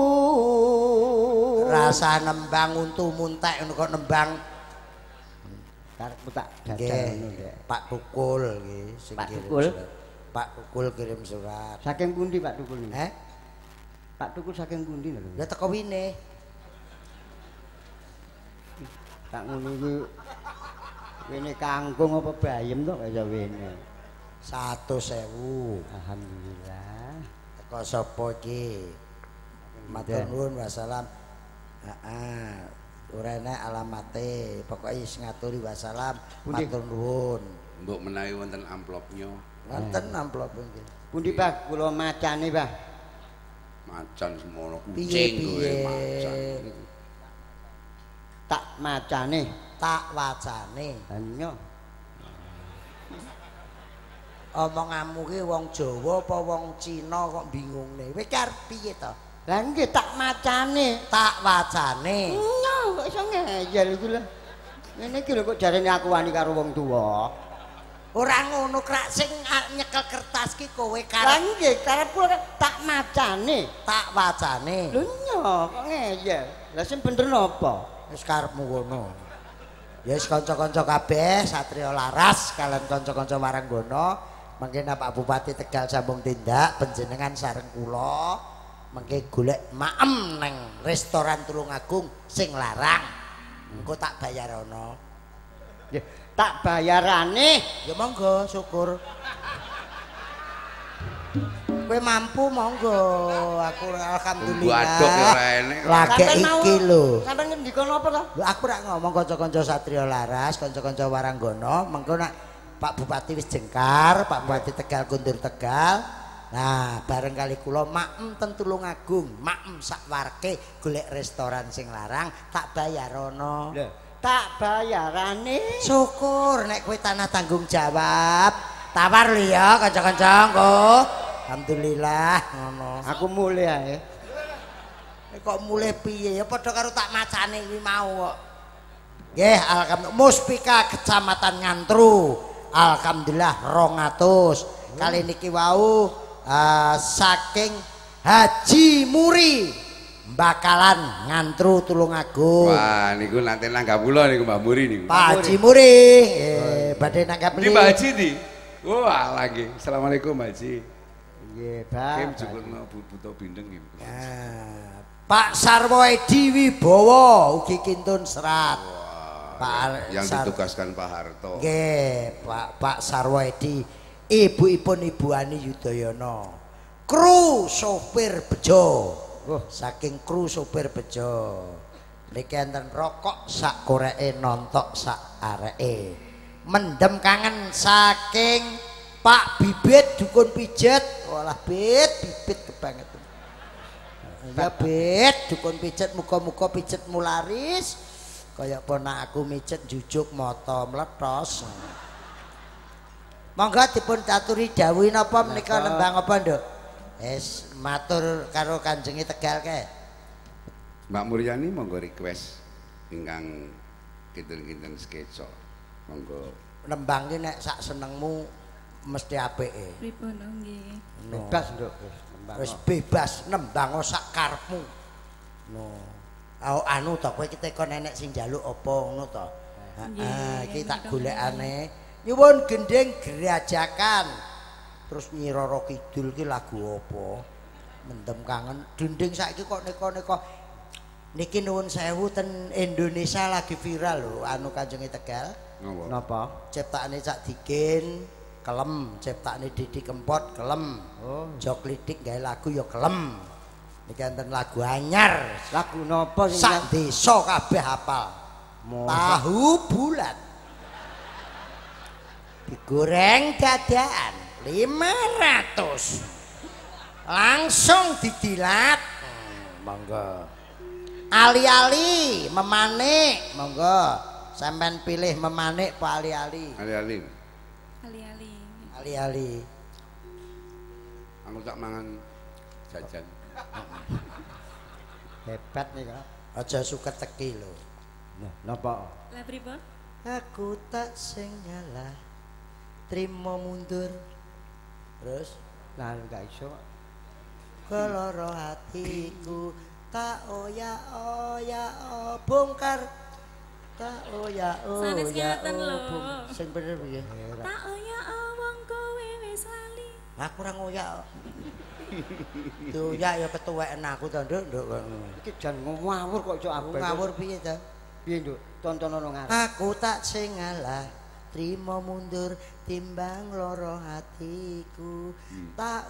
rasa nembang untu muntek ngono kok nembang. Karepmu tak dadal ngono Ndek. Pak Tukul nggih sing Pak kirim Tukul? surat. Pak Tukul kirim surat. Saking pundi Pak Tukul ini? Pak Tukul saking pundi lho? Ya teko wine. Tak ngono iki wene kangkung apa bayem to kaya wene. 100.000. Alhamdulillah. Teko sapa iki? Matur nuwun wassalam. Heeh. Ora enek alamate, pokoke wis ngaturi wassalam. Matur nuwun. Mbok menawi wonten amplopnya. Wonten amplop nggih. Pundi Pak kula macane Pak? Macan semono kucing Piye-piye? kowe macan. Tak macane, Tak wacane. hanya Omonganmu ki wong Jawa apa wong Cina kok bingungne. Kowe ki arep piye to? lah nggih tak macane. Tak wacane. Kok iso ngeyel iku lho. Ngene iki lho kok jarene aku wani karo wong tuwa. Ora ngono krak sing nyekel kertas ki kowe Lah karep nggih karepku tak macane. tak wacane. Lho nyok kok ngeyel. Lah sing bener napa? Wis karepmu ngono. Ya wis kanca-kanca kabeh Satrio Laras kalian kanca-kanca Waranggono mangke Pak Bupati Tegal sambung tindak panjenengan sareng kula mangke golek maem neng restoran Tulungagung sing larang. Engko tak bayar ana. Nggih, tak bayarane. Ya monggo syukur. Kowe mampu monggo. Aku alhamdulillah. Wadok ya ora enek. Lagi iki lho. Sampeyan ngendika napa to? Lho aku rak ngomong kanca-kanca Satrio Laras, kanca-kanca Waranggono, mengko nak Pak Bupati wis jengkar, Pak Bupati Tegal kundur Tegal. Nah, bareng kali kula maem ten Tulungagung, maem sak warke golek restoran sing larang, tak bayar ana. Lho, tak bayarane. Syukur nek kowe tanah tanggung jawab. Tawar lho ya kanca-kanca engko. Alhamdulillah ngono. Aku mulai ae. Kok mulai piye ya padha karo tak macane kuwi mau kok. Nggih, alhamdulillah Muspika Kecamatan Ngantru. Alhamdulillah 200. Kali niki wau saking Haji Muri Bakalan Ngantru Tulungagung. Wah, niku nanti nanggap kula niku Mbak Muri niku. Pak Haji Muri, badhe nanggap Di Mbak Haji di. Wah, lagi. Assalamualaikum Mbak Haji. Nggih, Kim Pak. jukutno butuh bindeng iki. Pak Sarwo Edi Wibowo ugi kintun serat. Pak Yang ditugaskan Pak Harto. Nggih, Pak Sarwo Edi, ibu-ipun Ibu Ani Yudhoyono. Kru sopir bejo. Saking kru sopir bejo. Niki enten rokok sak koreke nontok sak areke. Mendem kangen saking Pak Bibit dukun pijet. Walah bibit kebangetan. Ya bet dukun pijet muga-muga pijetmu laris kaya ponak aku mijet jujuk moto meletos. Monggo dipun aturi dawuh napa menika nembang apa nduk? Wis matur karo Kanjenge Tegal kae. Mbak Muryani monggo request ingkang kinten-kinten sketsa. Monggo Nembang ki nek sak senengmu mesti apike. Pripun nggih. Bebas, Nduk. Wis bebas nembang sak karepmu. No. Anu to kowe iki teko nenek sing njaluk apa ngono to. Heeh, iki tak golekane. Nyuwun gendeng gerajakan. Terus Nyi Roro Kidul ki lagu apa? Mendem kangen. Dending saiki kok neka-neka. Niki nuwun sewu ten Indonesia lagi viral lho anu Kanjenge Tegal. Napa? Ciptakane Cak Dikin kelem, ciptakane Didi Kempot kelem. Oh, Jok Lidik gawe lagu ya kelem. Niki enten lagu anyar. lagu napa sing Sak desa kabeh hafal. Tahu bulat. Digoreng dadaan 500. Langsung didilat. Monggo. Ali-ali memanik, monggo. Sampeyan pilih memanik apa ali-ali? ali-ali. Ali-ali. Ali-ali. Aku tak mangan jajan. hebat nih Kak. Aja suket teki lho. Nah, napa? Lah pripun? Aku tak sing ngalah trimo mundur terus lah gak iso keloro hatiku tak bongkar tak Sanes ngeten lho. sing bener piye Tak oya wong kowe wis lali. aku ora ngoyak doyak ya ketuweken aku to nduk iki jan ngawur kok iso abet ngawur piye to piye nduk tontonono ngarep aku tak sing ngalah trimo mundur timbang loro hatiku tak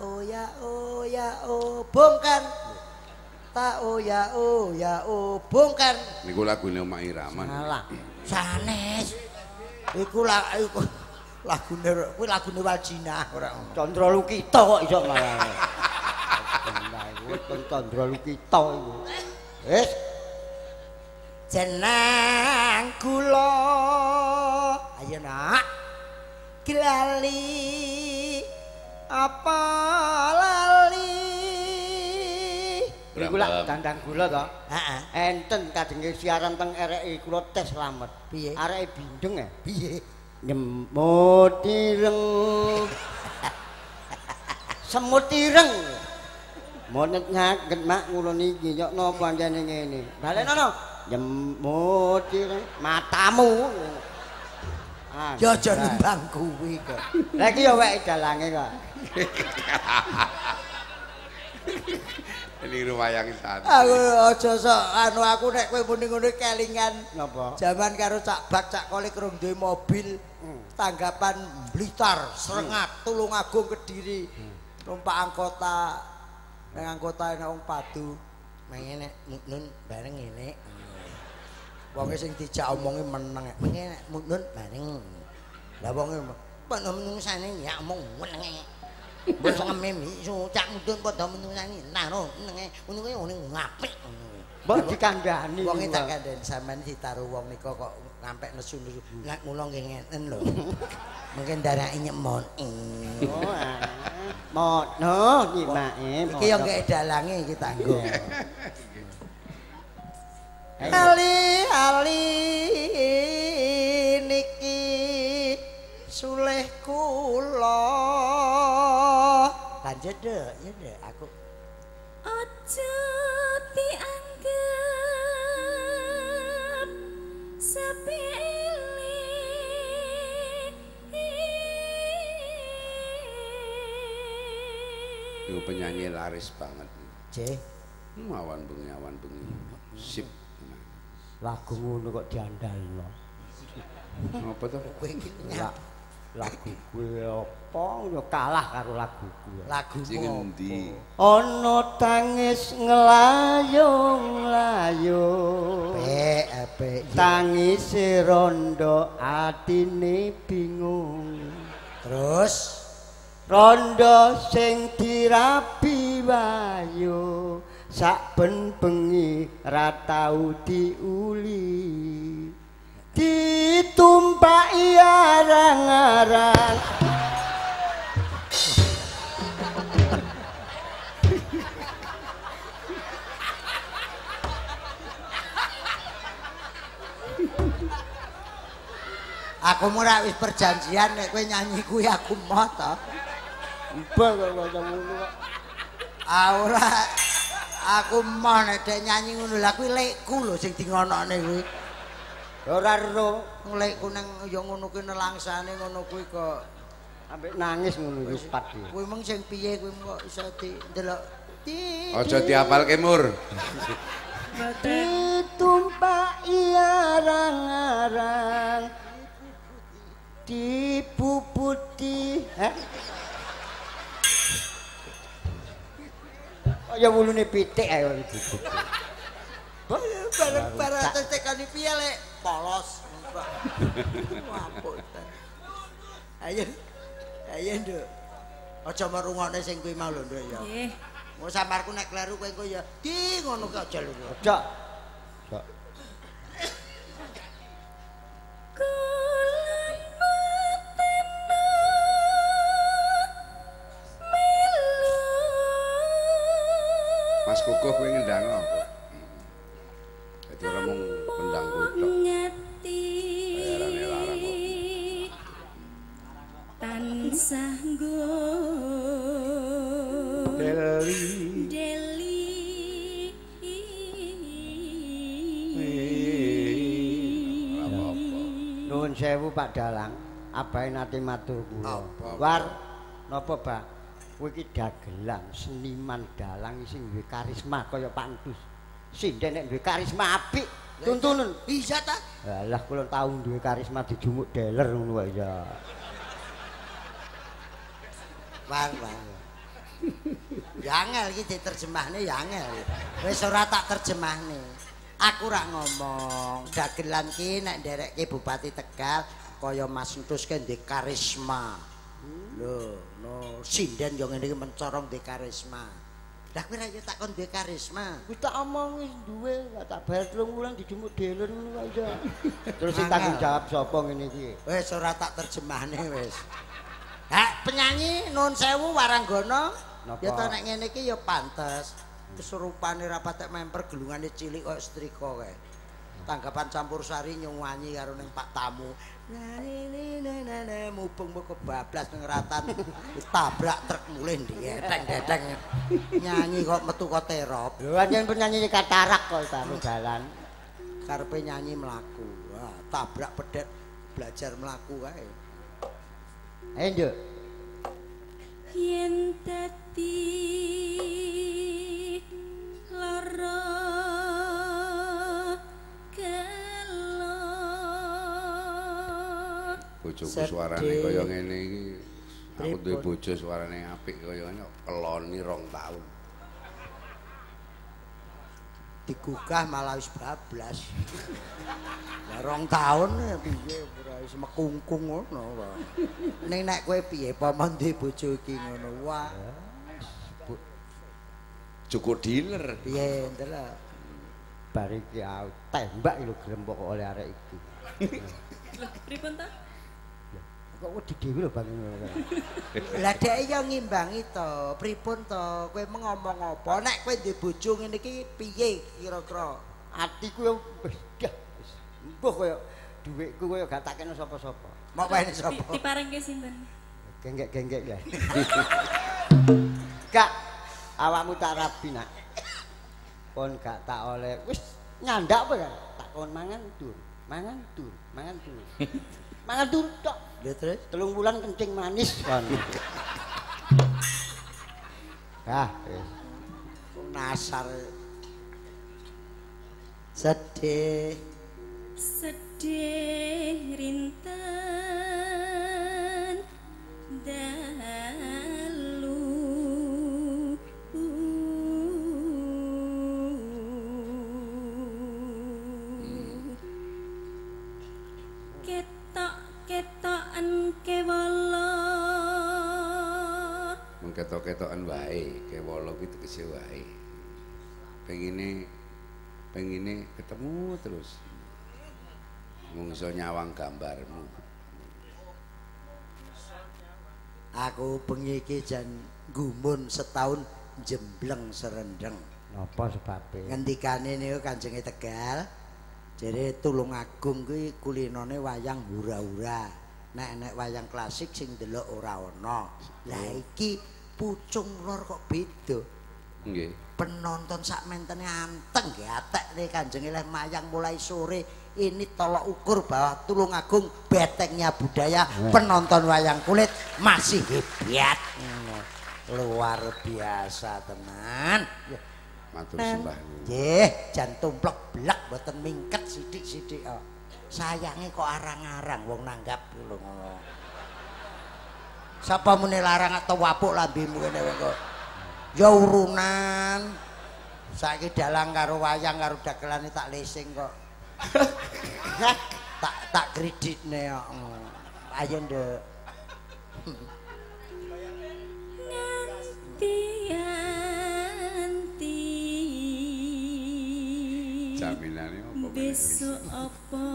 bongkar tak bongkar niku lagune Mak Iraman salah sanes iku lagune Waljina ora Chandra Lukita kok iso malah Chandra Lukita iku wis jeneng kula ayo nak lali apa lali iku lak dandang gula to heeh enten kadenge siaran teng RRI kula tes slamet piye areke bindeng piye nyemut ireng semut ireng monet nyaget mak ngono niki nyok napa anjane ngene balenono nyemut ireng matamu ya aja nimbang kuwi kok lha iki ya wek dalange kok ini rumayang santai aku aja sok aku nek kowe muni ngono kelingan napa jaman karo Cak Bak Cak Kolik rong duwe mobil tanggapan Blitar Srengak Tulungagung Kediri numpak anggota nang anggota nek wong padu mengene nun bareng ngene wonge sing dijak omongi meneng mengene nun bareng lah wonge menungsane ya omong menenge wis ngemim iso Cak Mudun padha menungsane nah no menenge ngono kuwi ngapik mbok dikandhani wonge tak kandhani sampean ditaruh wong nika kok ngampek nesu-nesu nek mulo nggih ngeten lho mungkin darake nyemon mono nyimake iki yo nggih dalange iki tanggo ali niki sulih kula lanjut deh ya deh aku Aja dianggap sepele. Itu penyanyi laris banget. C. Awan bengi. Sip. Lagu ngono kok diandalno. Apa to? Kowe iki Lagu kuwi apa ya kalah karo lagu kuwi. lagu Sing endi? Ana tangis nglayung-layung. Apik. Tangis rondo atine bingung. Terus Rondo sing dirabi wayu saben bengi ra tau diuli. Ditumpaki arang-arang aku ora wis perjanjian nek kowe nyanyi kuwi aku moh to. mbah kok ngono kok. Ora aku moh nek dek nyanyi ngono lha kuwi lekku lho sing dingonokne kuwi. Ora ero Lekku nang ya ngono kuwi nelangsane ngono kuwi kok ambek nangis ngono wis pat. kuwi mung sing piye kuwi kok iso ndelok. Aja diapalke Mur. Ditumpaki arang-arang dipuputi ya wulune pitik ae dipuputi. Bareng-bareng atus tekani piye lek polos. Wampun. Ayo. Ayo, Nduk. Aja merungokne sing kuwi mau lho, Nduk ya. Nggih. Mau samarku nek kleru kowe engko ya di ngono ki aja lho. Ojo. Mas Kukuh kowe ngendang apa? Dadi ora mung pendang kowe tok. Ngati. Heran-heran. Nuwun sewu Pak Dalang, abahe nate matur kula. War napa, Pak? Kowe iki dagelan seniman dalang sing duwe karisma kaya Pak Entus. Sinden nek duwe karisma apik, tuntunen. Iya ta? Alah kula tau duwe karisma dijumuk deler ngono wae ya. War. Ya angel iki diterjemahne ya angel. Wis ora tak terjemahne. Aku rak ngomong, dagelan ki nek nderekke Bupati Tegal kaya Mas Entus ki ndek karisma. Lho, no sinden yo ngene iki mencorong ndek karisma. Lah kowe ra yo takon duwe karisma. Wis tak omong wis duwe, gak tak bayar 3 wulan dijumuk deler ngono wae ya. Terus sing tanggung jawab sapa ngene iki? Wis ora tak terjemahne wis. Hak penyanyi nun sewu Waranggana. Ya to nek ngene iki ya pantes. Kesurupane ra patek memper gelungane cilik kaya setrika kae. Tanggapan campursari nyuwanyi karo ning Pak Tamu. Mubeng kebablas ning ratan tabrak truk mulih ndeteng-deteng. Nyanyi kok metu kok terop. Lho anjen penyanyi katarak kok taruh dalan. Karepe nyanyi mlaku. Wah, tabrak pedet belajar mlaku kae. Ayo, Nduk. Yen dadi lara kelo Bojoku suarane kaya ngene iki. Aku duwe bojo suarane apik kaya ngene keloni 2 tahun. Digugah malah wis bablas. Lah 2 tahun piye ora wis mekungkung ngono wae. Ning nek kowe piye paman duwe bojo iki ngono wah. Cukup dealer. Piye ndelok. Bar iki tembak lho grempok kok oleh arek iki. Lho, pripun ta? Kok wedi dhewe lho Bang. Lah dhek yo ngimbangi to, pripun to? Kowe ngomong apa? Nek kowe duwe bojo ngene iki piye kira-kira? Atiku yo wis dah wis. Mbuh kaya dhuwitku kaya gak tak kena sapa-sapa. Mok wae sapa? Diparengke sinten? Genggek-genggek ya. Kak, awakmu tak rabi nak. Kon gak tak oleh wis nyandak apa kan? Tak kon mangan tur, mangan tur, mangan tur. Mangan tur tok. Lha terus 3 bulan kencing manis kon. Ah, wis. nasar. Sedih rinten dalu ketok-ketokan kewala mengketok-ketokan wae kewala kuwi tegese wae pengine ketemu terus mung iso nyawang gambarmu. aku bengi iki jan gumun setahun jembleng serendeng. Napa sebabe? Ngendikane niku Kanjenge Tegal. Jere Tulungagung kuwi kulinone wayang hura-hura. Nek wayang klasik sing ndelok ora ana. Lah iki Pucung Lor kok beda. Nggih. Penonton sak mentene anteng nggih atekne Kanjeng Eleh mayang mulai sore ini tolok ukur bahwa Tulungagung betengnya budaya penonton wayang kulit masih hebat. Luar biasa tenan. Matur sembah. Nggih, jan tumplek blek mboten mingket sithik-sithik kok. Sayange kok arang-arang wong nanggap lho ngono. Sapa muni larang atau wapuk lambemu kene kok. Ya urunan. Saiki dalang karo wayang karo dagelane tak lesing kok. tak kreditne kok. Ayo nduk. Nganti jaminane apa besok apa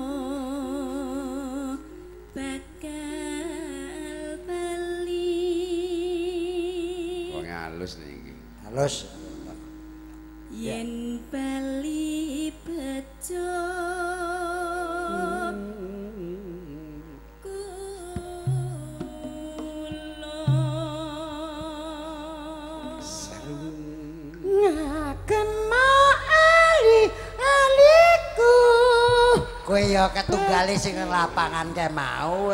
bakal bali wong halus niki Halus. yen bali bejo Kowe ya ketunggale sing lapangan kae mau.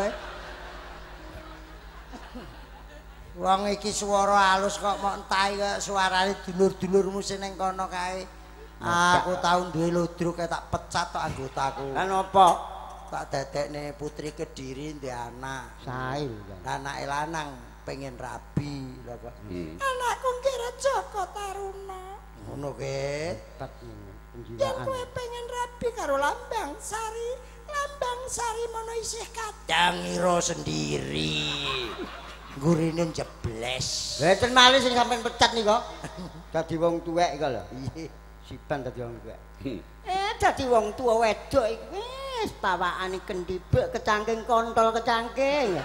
Wong iki swara halus kok mok entahi kok suarane dulur-dulurmu sing ning kono kae. Aku tau duwe ludruk tak pecat tok anggotaku. Lan apa? Tak dadekne putri Kediri ndek anak. Sae. Anake lanang pengen rabi lho kok. Anakku kira Joko Taruna. Ngono ke? Yen kowe pengen rabi karo Lambang Sari, Lambang Sari mono isih kadang ira sendiri. Gurine jebles. Lah ten malih sing sampean pecat nika. Dadi wong tuwek iku lho. Iya, siban dadi wong tuwek. Dadi wong tuwa wedok iki wis pawakane kendhibek kecangking kontol kecangking.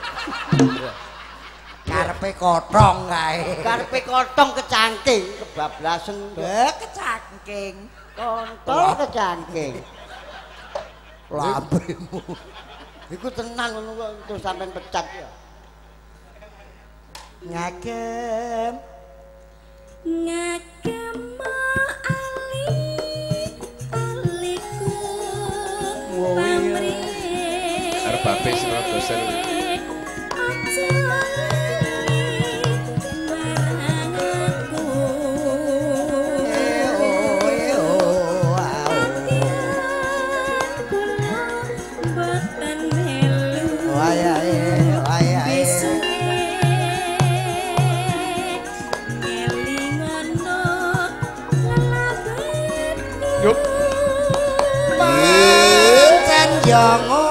Karepe kotong kae. Karepe kotong kecangking kebablasen. Kecangking. Kontol kecangking. Lambemu. Iku tenan ngono kok terus sampean pecat ya. Ngagem aliku arep babe sira dosen Yuk. Jango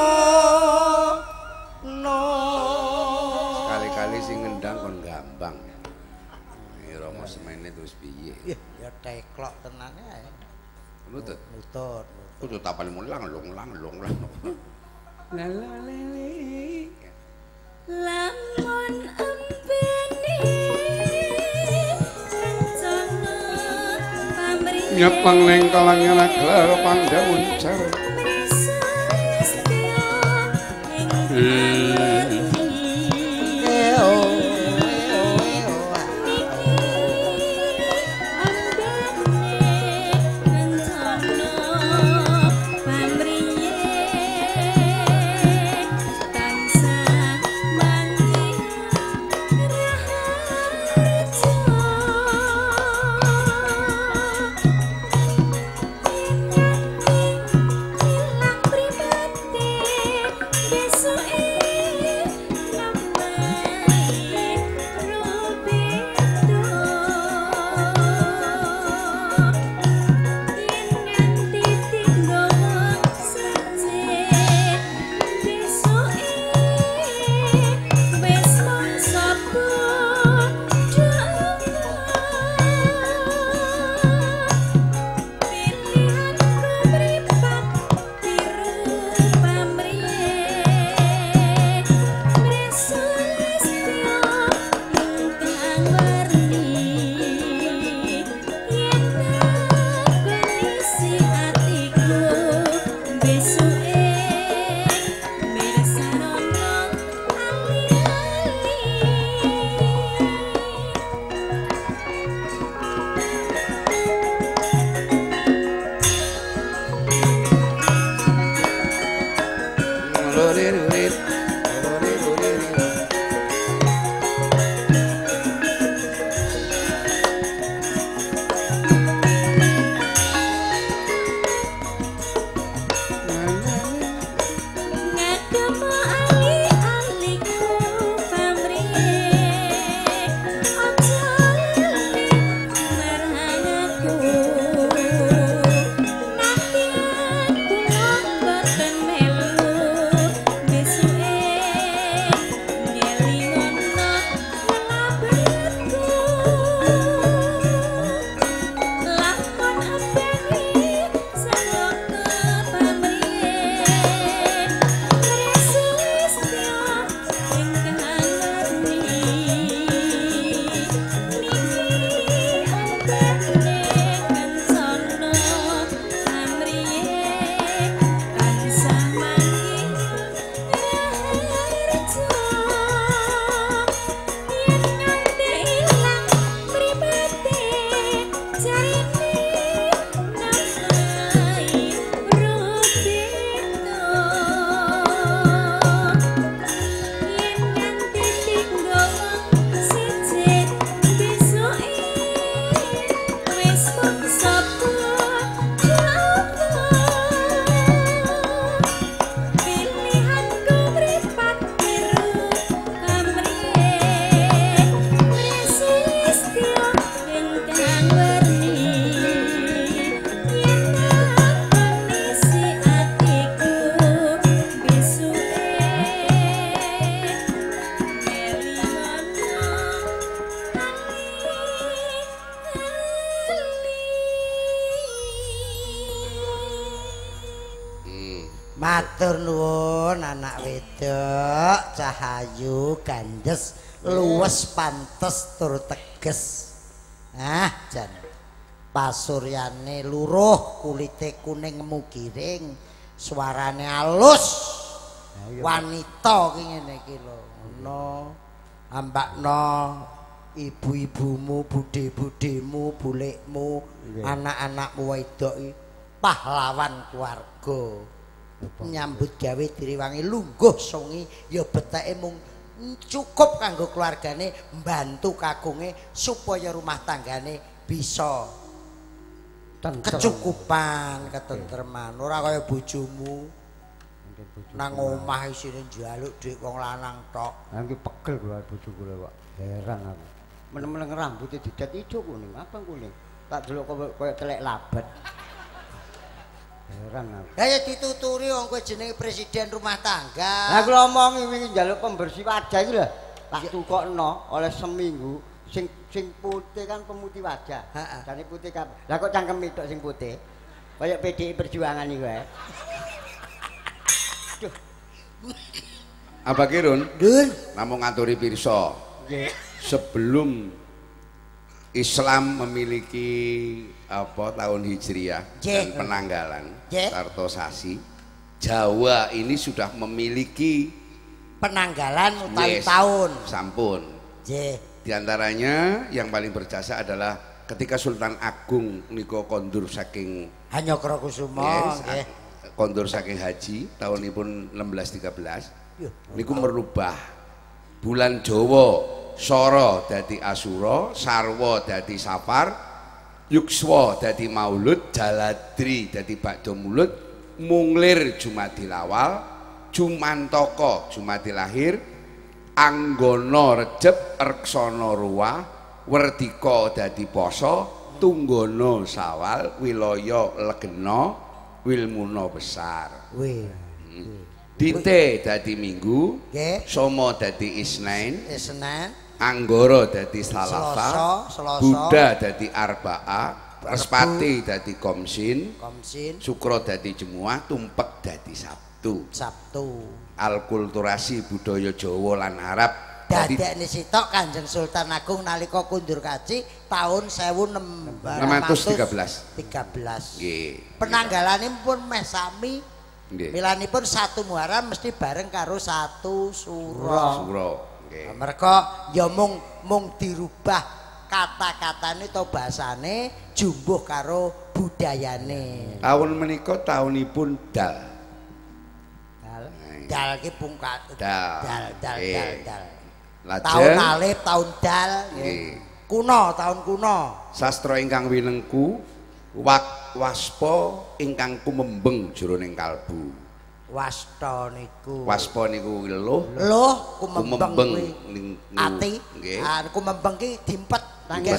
no. Sekali-kali sing ngendang kon gampang. Rama semene terus piye? Ya teklok tenan ae. Nutut. Nutut. Kudu tapane mulang long. La la lele. Lamun empene rencana pamrih Nyepang ning kalangan gelar pandhamun jar. Matur nuwun anak wedok, cahayu, gandes, luwes, pantes tur teges. Jan. Pasuryane luruh, kulite kuning mugiring, suarane halus. Wanita ki ngene iki lho. Ngono. Ambakno ibu-ibumu, budhe-budhemu, bulikmu, anak-anakmu wedok iki pahlawan keluarga. Nyambut gawe diriwangi lungguh songi ya beteke mung cukup kanggo keluargane mbantu kagunge supaya rumah tanggane bisa kecukupan, ketentreman. Ora kaya bojomu nang omah isine njaluk dhuwit wong lanang tok. Ha iki pegel kula bojoku lho kok. Heran aku. Men-men rambute didat ijo kuning, abang kuning. Tak delok koyo telek labat. Heran aku. Lah ya dituturi wong kowe jenenge presiden rumah tangga. Lah kula omongi wingi njaluk pembersih wajah iki lho. Tak tukokno oleh seminggu sing putih kan pemutih wajah. Jane putih kabeh. Lah kok cangkem tok sing putih. Kayak PDI Perjuangan iki wae. Apa Kirun? Dun, Namung ngaturi pirsa. Nggih. Sebelum Islam memiliki apa tahun Hijriah dan penanggalan sarta sasi, Jawa ini sudah memiliki penanggalan utawi tahun. Sampun. Di antaranya yang paling berjasa adalah ketika Sultan Agung nika kondur saking Hanyokrokusumo nggih. Kondur saking haji tahunipun 1613 niku merubah bulan Jawa Sora dadi Asura, Sarwa dadi Safar, Yukswa dadi Maulud, Jaladri dadi Ba'da Mulud, Munglir Jumadil Awal, Jumantaka Jumadil Akhir, Anggana Recep, Reksana Ruwah, Werdika dadi Pasa, Tunggana Sawal, Wilaya Legena, Wilmuna Besar. Dite dadi Minggu, Somo dadi Isnain, Anggara dadi Salasa, Buddha dadi Arbaa, Respati dadi Komsin, Sukra dadi Jemuah, Tumpek dadi Sabtu. Alkulturasi budaya Jawa lan Arab. Dadekne sitok Kanjeng Sultan Agung nalika kundur kaji tahun 1613. Nggih. Penanggalane pun meh sami. Milanipun 1 Muharram mesti bareng karo 1 Suro. Nggih. Merga ya mung dirubah kata-katane to basane jumbuh karo budayane. Tahun menika tahunipun Dal. Dal ki pungkat. Dal. Tahun alif, tahun dal. Kuno, tahun kuno. Sastra ingkang winengku waspa ingkang kumembeng jroning kalbu. Wasta niku Luh kumembeng ati. Kumembeng ki dimpet nangis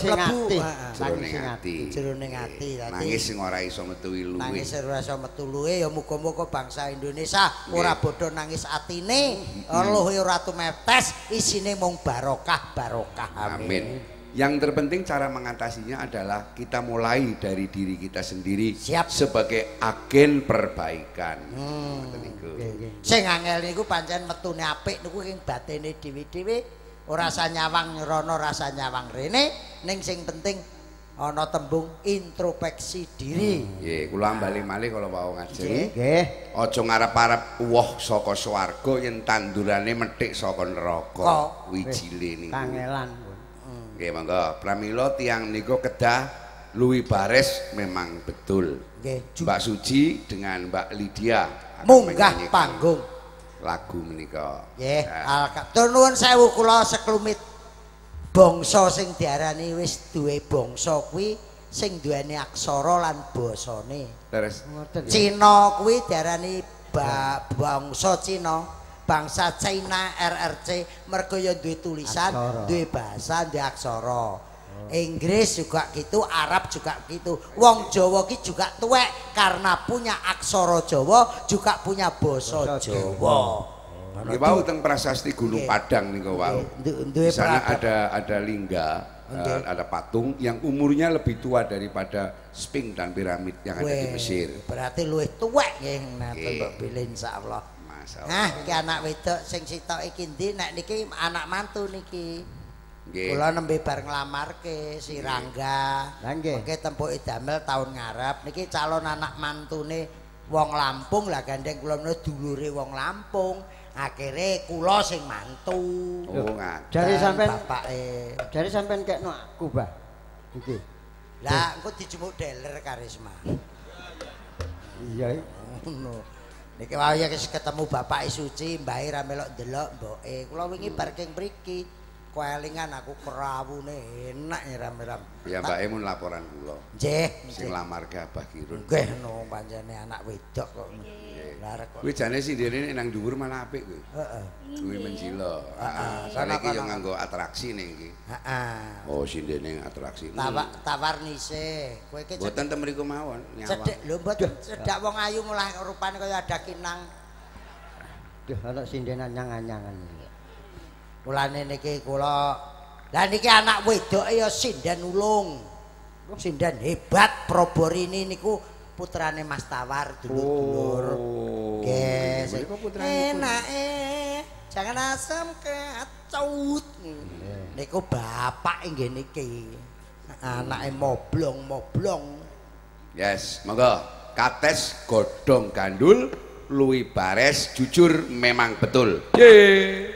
jroning ati. Nangis sing ora iso metu iluwe. Nangis ora iso metu luwe ya muga-muga bangsa Indonesia ora bodho nangis atine, luhe ora tumetes, isine mung barokah. Amin. Yang terpenting cara mengatasinya adalah kita mulai dari diri kita sendiri. Sebagai agen perbaikan. Sing angel niku pancen metune apik niku ing batine dhewe-dhewe, ora rasa nyawang rono rasa nyawang rene, ning sing penting ana tembung introspeksi diri. Nggih, kula bali malih kala wau ngajeng. Nggih. Aja ngarep-arep woh saka swarga yen tandurane methik saka neraka. Wijile niku. Kangelan. Oke, monggo. Pramila tiyang niku kedah luwi bares memang betul. Mbak Suci dengan Mbak Lydia munggah panggung lagu menika. Nggih, tur nuwun sewu kula seklumit bangsa sing diarani wis duwe bangsa kuwi sing duweni aksara lan basane. Leres. Cina kuwi diarani bangsa Cina. Bangsa China RRC mergo ya duwe tulisan, duwe bahasa, duwe aksara. Inggris juga gitu, Arab juga gitu. Wong Jawa ki juga tuwek karena punya aksara Jawa, juga punya basa Jawa. Nggih wau teng prasasti Gunung Padang niku wau. Di sana ada lingga ada patung yang umurnya lebih tua daripada Sphinx dan piramid yang ada di Mesir. Berarti luwih tuwek nggih nate Mbok Bilih insyaallah. Masyaallah. Nah, iki anak wedok sing sitok iki ndi? Nek niki anak mantu niki. Nggih. Kula nembe bar nglamarke si Rangga. Lah nggih. Mengke tempuke damel tahun ngarep niki calon anak mantune wong Lampung lah gandeng kula menawa dulure wong Lampung. Akhire kula sing mantu. Oh, jare sampean bapake. Jare sampean kekno aku, Mbah. Iki. Lah engko dijemuk deler Karisma. Iya. Ngono. Niki wae ketemu Bapak Suci, mbahe ra melok ndelok mboke. Kula wingi bar king mriki. Kelingan aku kerawune enak ya ram-ram. Ya mbake mun laporan kula. Nggih, sing lamar ke Abah Kirun. Nggih no pancene anak wedok kok. Lah rek kok. Kuwi jane sindene nang dhuwur malah apik kuwi. Heeh. Kuwi menjilo. Heeh. Soale iki yo nganggo atraksi ning iki. Heeh. Oh sindene atraksi. Tawarnise. Kowe iki mboten ten mriku mawon nyawang. Cedhek lho mboten cedak wong ayu mulah rupane kaya ada kinang. Duh ana sindenan nyang-nyangan. Mulane niki kula lah niki anak wedoke ya sinden ulung. Sinden hebat Proborini niku putrane Mas Tawar dulur-dulur. Nggih, enake jangan asam kecut. Niku bapak nggih niki. Anake moblong-moblong. Yes, monggo kates godhong gandul luwi bares jujur memang betul. Yeay.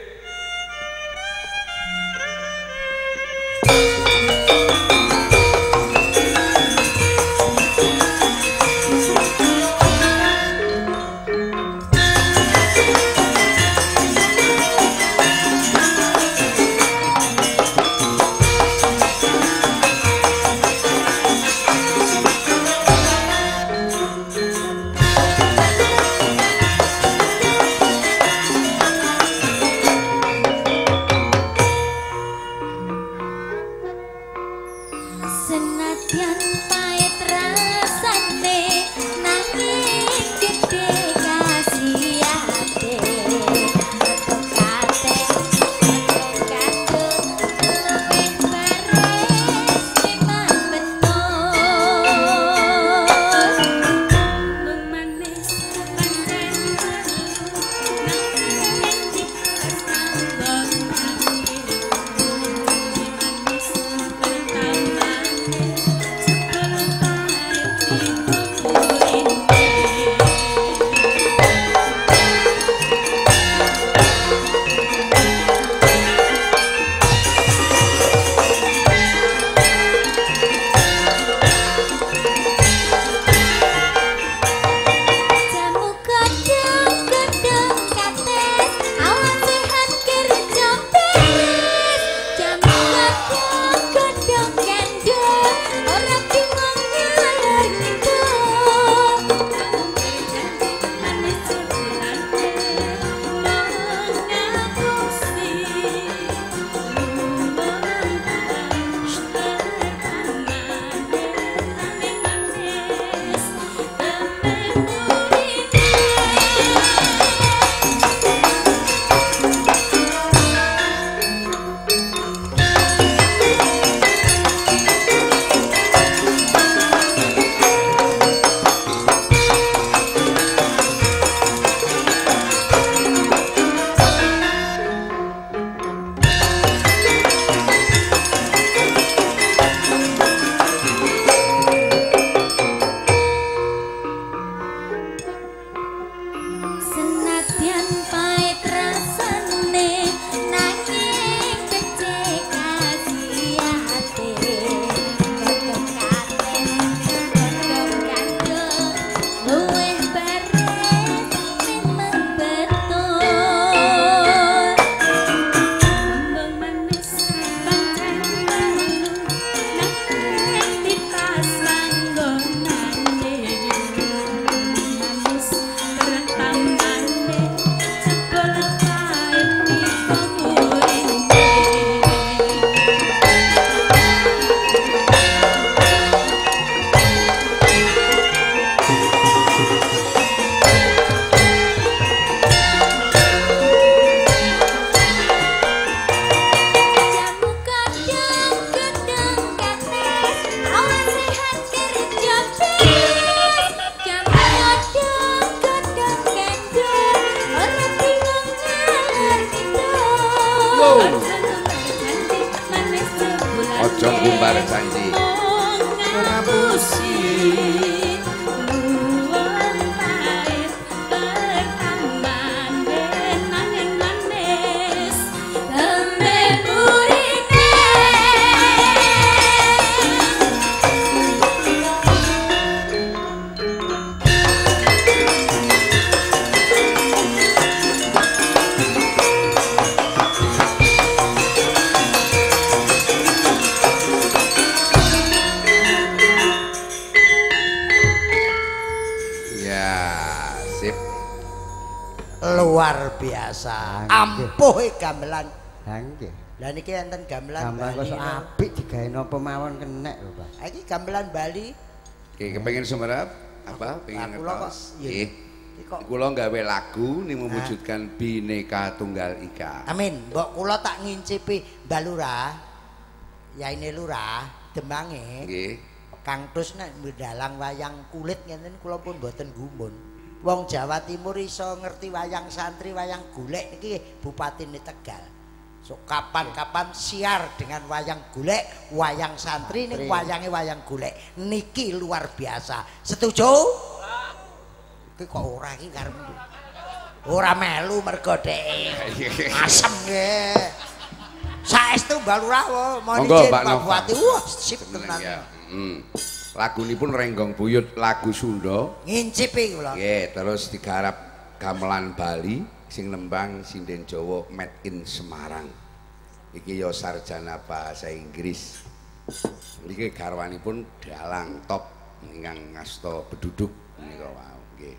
luar biasa. Ampuh gamelan. Ha nggih. Lah niki enten gamelan Gamelan Bali. kok apik digawe napa mawon kenek lho, Pak. Iki gamelan Bali. Oke, kepengin sumerep apa? Pengen kula kok nggih. Kok Kula gawe lagu ning mewujudkan Bhinneka Tunggal Ika. amin. Mbok kula tak ngincipi Mbak Lurah. Yaine Lurah Demange. Nggih. Kang Tus nek ndalang wayang kulit ngenten kula pun mboten gumun. Wong Jawa Timur iso ngerti wayang santri, wayang golek iki Bupatine Tegal. So kapan-kapan siar dengan wayang golek, wayang santri ning wayange wayang golek. Niki luar biasa. Setuju? Iki kok ora iki karepmu. Ora melu mergo dhek asem nggih. Saestu Mbak Lurah mohon izin Pak Bupati. Wah, sip tenan. Lagunipun Renggong Buyut lagu Sunda. Ngincipi kula. Nggih, terus digarap gamelan Bali sing nembang sinden Jawa made in Semarang. Iki ya sarjana bahasa Inggris. Niki garwanipun dalang top ingkang ngasta beduduk menika wau nggih.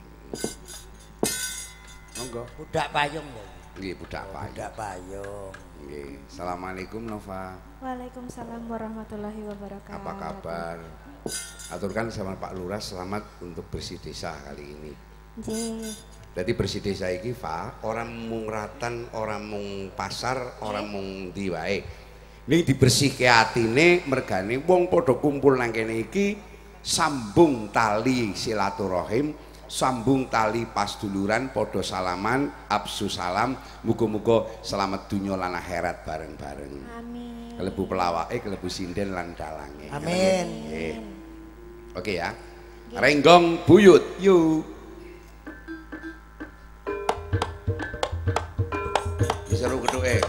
Monggo. Budak payung lho. Nggih, budak payung. Budak payung. Nggih. Assalamualaikum Nova. Waalaikumsalam warahmatullahi wabarakatuh. Apa kabar? Aturkan sama Pak Lurah selamat untuk bersih desa kali ini. Nggih. Jadi bersih desa iki Pak, orang mung ratan, orang mung pasar, orang mung ndi wae. Ning dibersihke atine mergane wong padha kumpul nang kene iki sambung tali silaturahim, sambung tali pasduluran, padha salaman, absu salam, muga-muga selamat dunya lan akhirat bareng-bareng. Amin. Kelebu pelawake, kelebu sinden lan dalange. Amin. Nggih. Oke ya. Renggong Buyut, yuk. Seru keduke.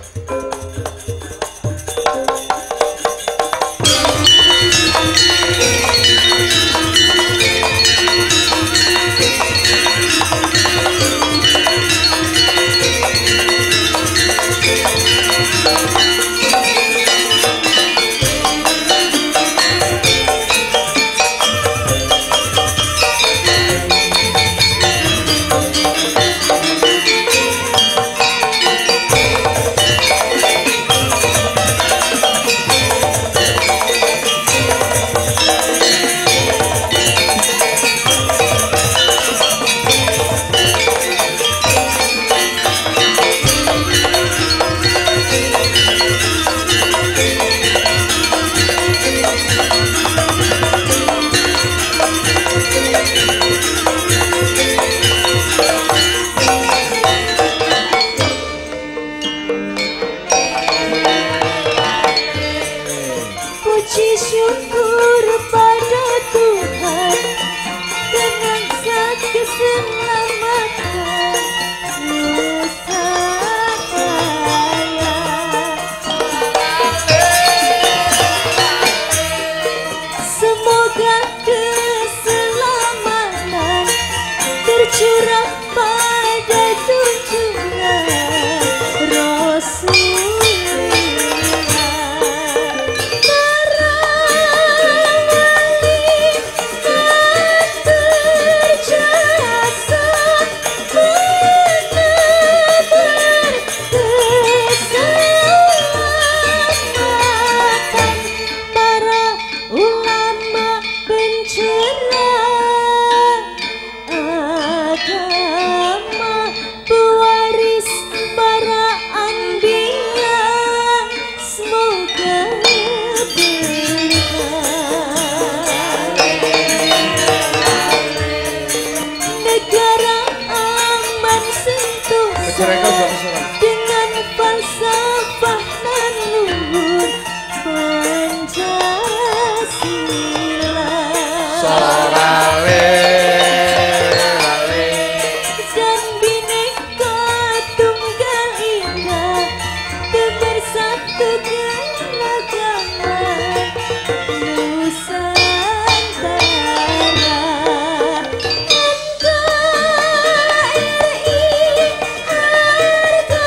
Nusantara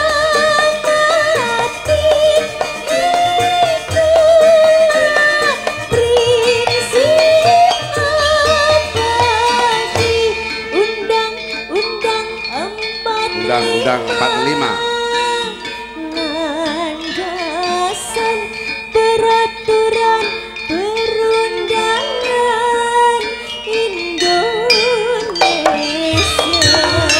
Undang-undang 45. Landasan peraturan perundangan Indonesia.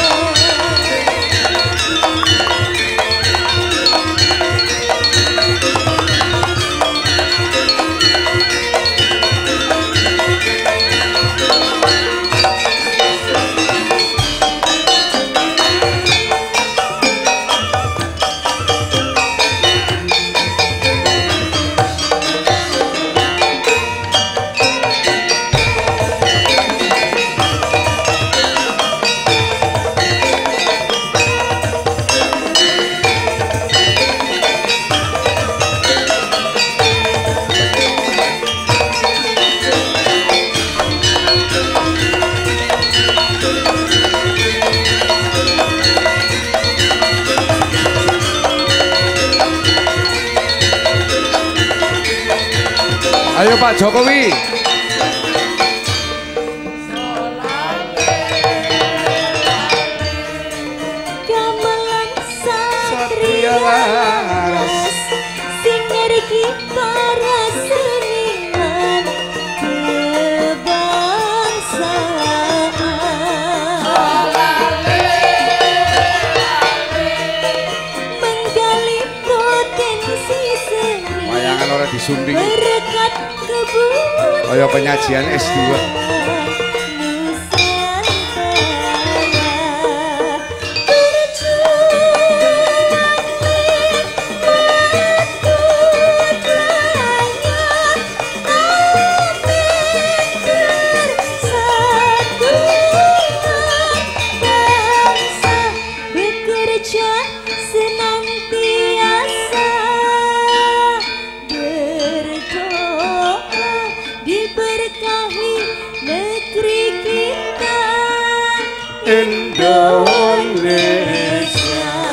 Ayo Pak Jokowi. Gamelan satria laras sinergi para seniman kebangsaan menggali potensi seni Wayangan ora disumbing. berkat kebun Kaya penyajian S2. Bekerja senantiasa berdoa diberkahi negeri kita Indonesia.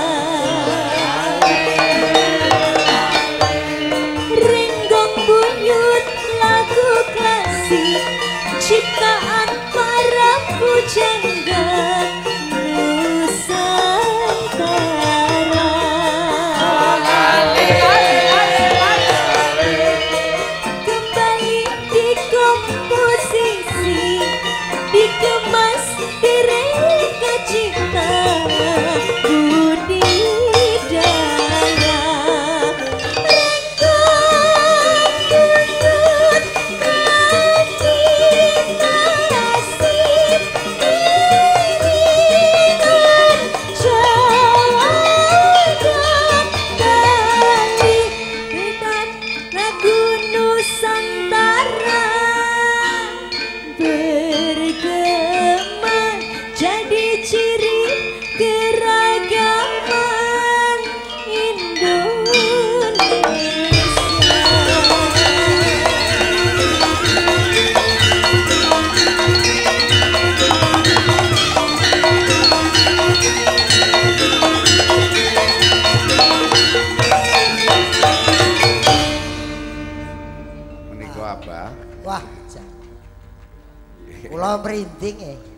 Renggong buyut lagu klasik ciptaan para pujangga Nusantara. Kembali dikomposisi, dikemas direka cipta budidaya. Renggong buyut meditasi iringan Jawa dan Bali dan lagu Nusantara bergema jadi ciri keragaman Menika apa? Wah, kula merinding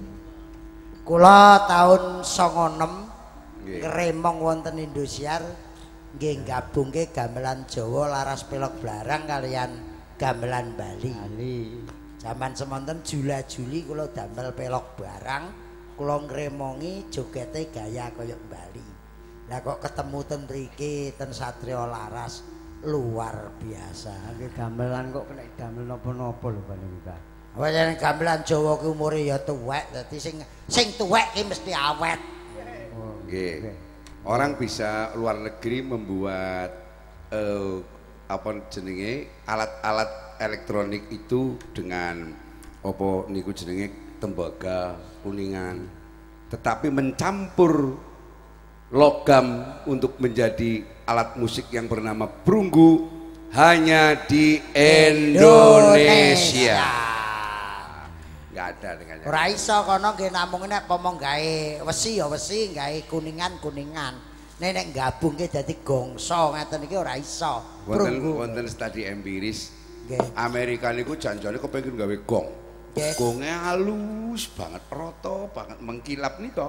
kula tahun 96 Nggih. ngremong wonten Indosiar nggih gabungke gamelan Jawa laras pelok blarang kalian gamelan Bali. Zaman semonten Jula-juli kula damel pelok barang, kula ngremongi jogete gaya kaya Bali. Lah kok ketemu ten mriki ten Satrio Laras luar biasa. Nggih gamelan kok kena damel napa-napa lho panjenengan. Wajan gamelan Jawa ki umure ya tuwek, dadi sing tuwek ki mesti awet. Nggih. Orang bisa luar negeri membuat apa jenenge alat-alat elektronik itu dengan apa niku jenenge tembaga kuningan, tetapi mencampur logam untuk menjadi alat musik yang bernama perunggu hanya di Indonesia. Nggak ada dengannya. Ora iso kono nggih namung nek pomong gawe wesi ya wesi, gawe kuningan-kuningan. Nek gabungke dadi gongso ngeten iki ora iso. Wonten studi empiris. Amerika niku janjane kepengin gawe gong. Gonge halus banget, roto banget, mengkilap nika.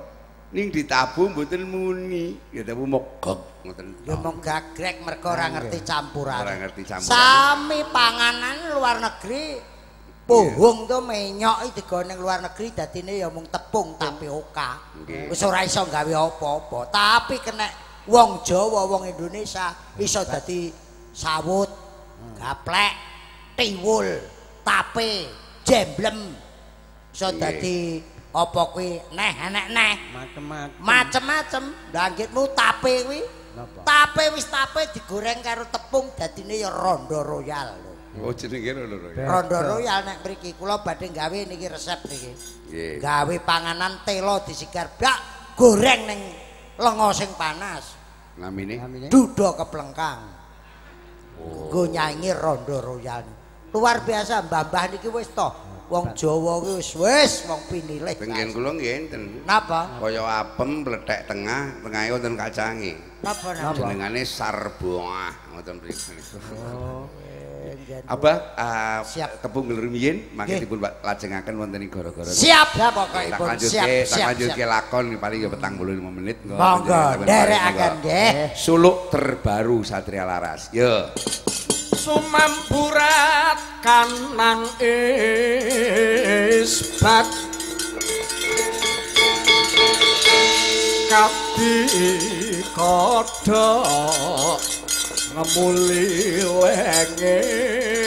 ning ditabuh mboten muni ya tapi mogok ngoten ya mong gagrek mergo ora ngerti campuran ora ngerti campuran sami panganan luar negeri pohong to menyok digone luar negeri dadine ya mung tepung tapioka wis ora iso gawe apa-apa tapi kena wong Jawa wong Indonesia iso dadi sawut gaplek tiwul tape jemblem iso dadi apa kuwi neh enek neh macem-macem ndanggitmu tape kuwi tape wis tape digoreng karo tepung dadine ya rondo royal lho oh jenenge rondo royal rondo royal nek mriki kula badhe gawe niki resep niki gawe panganan telo disigar bak goreng ning lenga sing panas namine dudo keplengkang nggo nyanyi rondo royal luar biasa mbah-mbah niki wis to wong Jawa kuwi wis wong pinilih. Tenggen kula nggih enten. Napa? Kaya apem mlethek tengah, tengahe wonten kacange. Napa? Jenengane sarboah ngoten mriki. Oh. Abah tepung rumiyin mangke dipun lajengaken wonten ing gara-gara. Siap ya pokokipun. Siap. Lanjutke lakon paling ya 45 menit. Monggo nderekaken nggih. Suluk terbaru Satria Laras. Yo. Sumampurat kanang isbat kati kodhok ngemuli lenge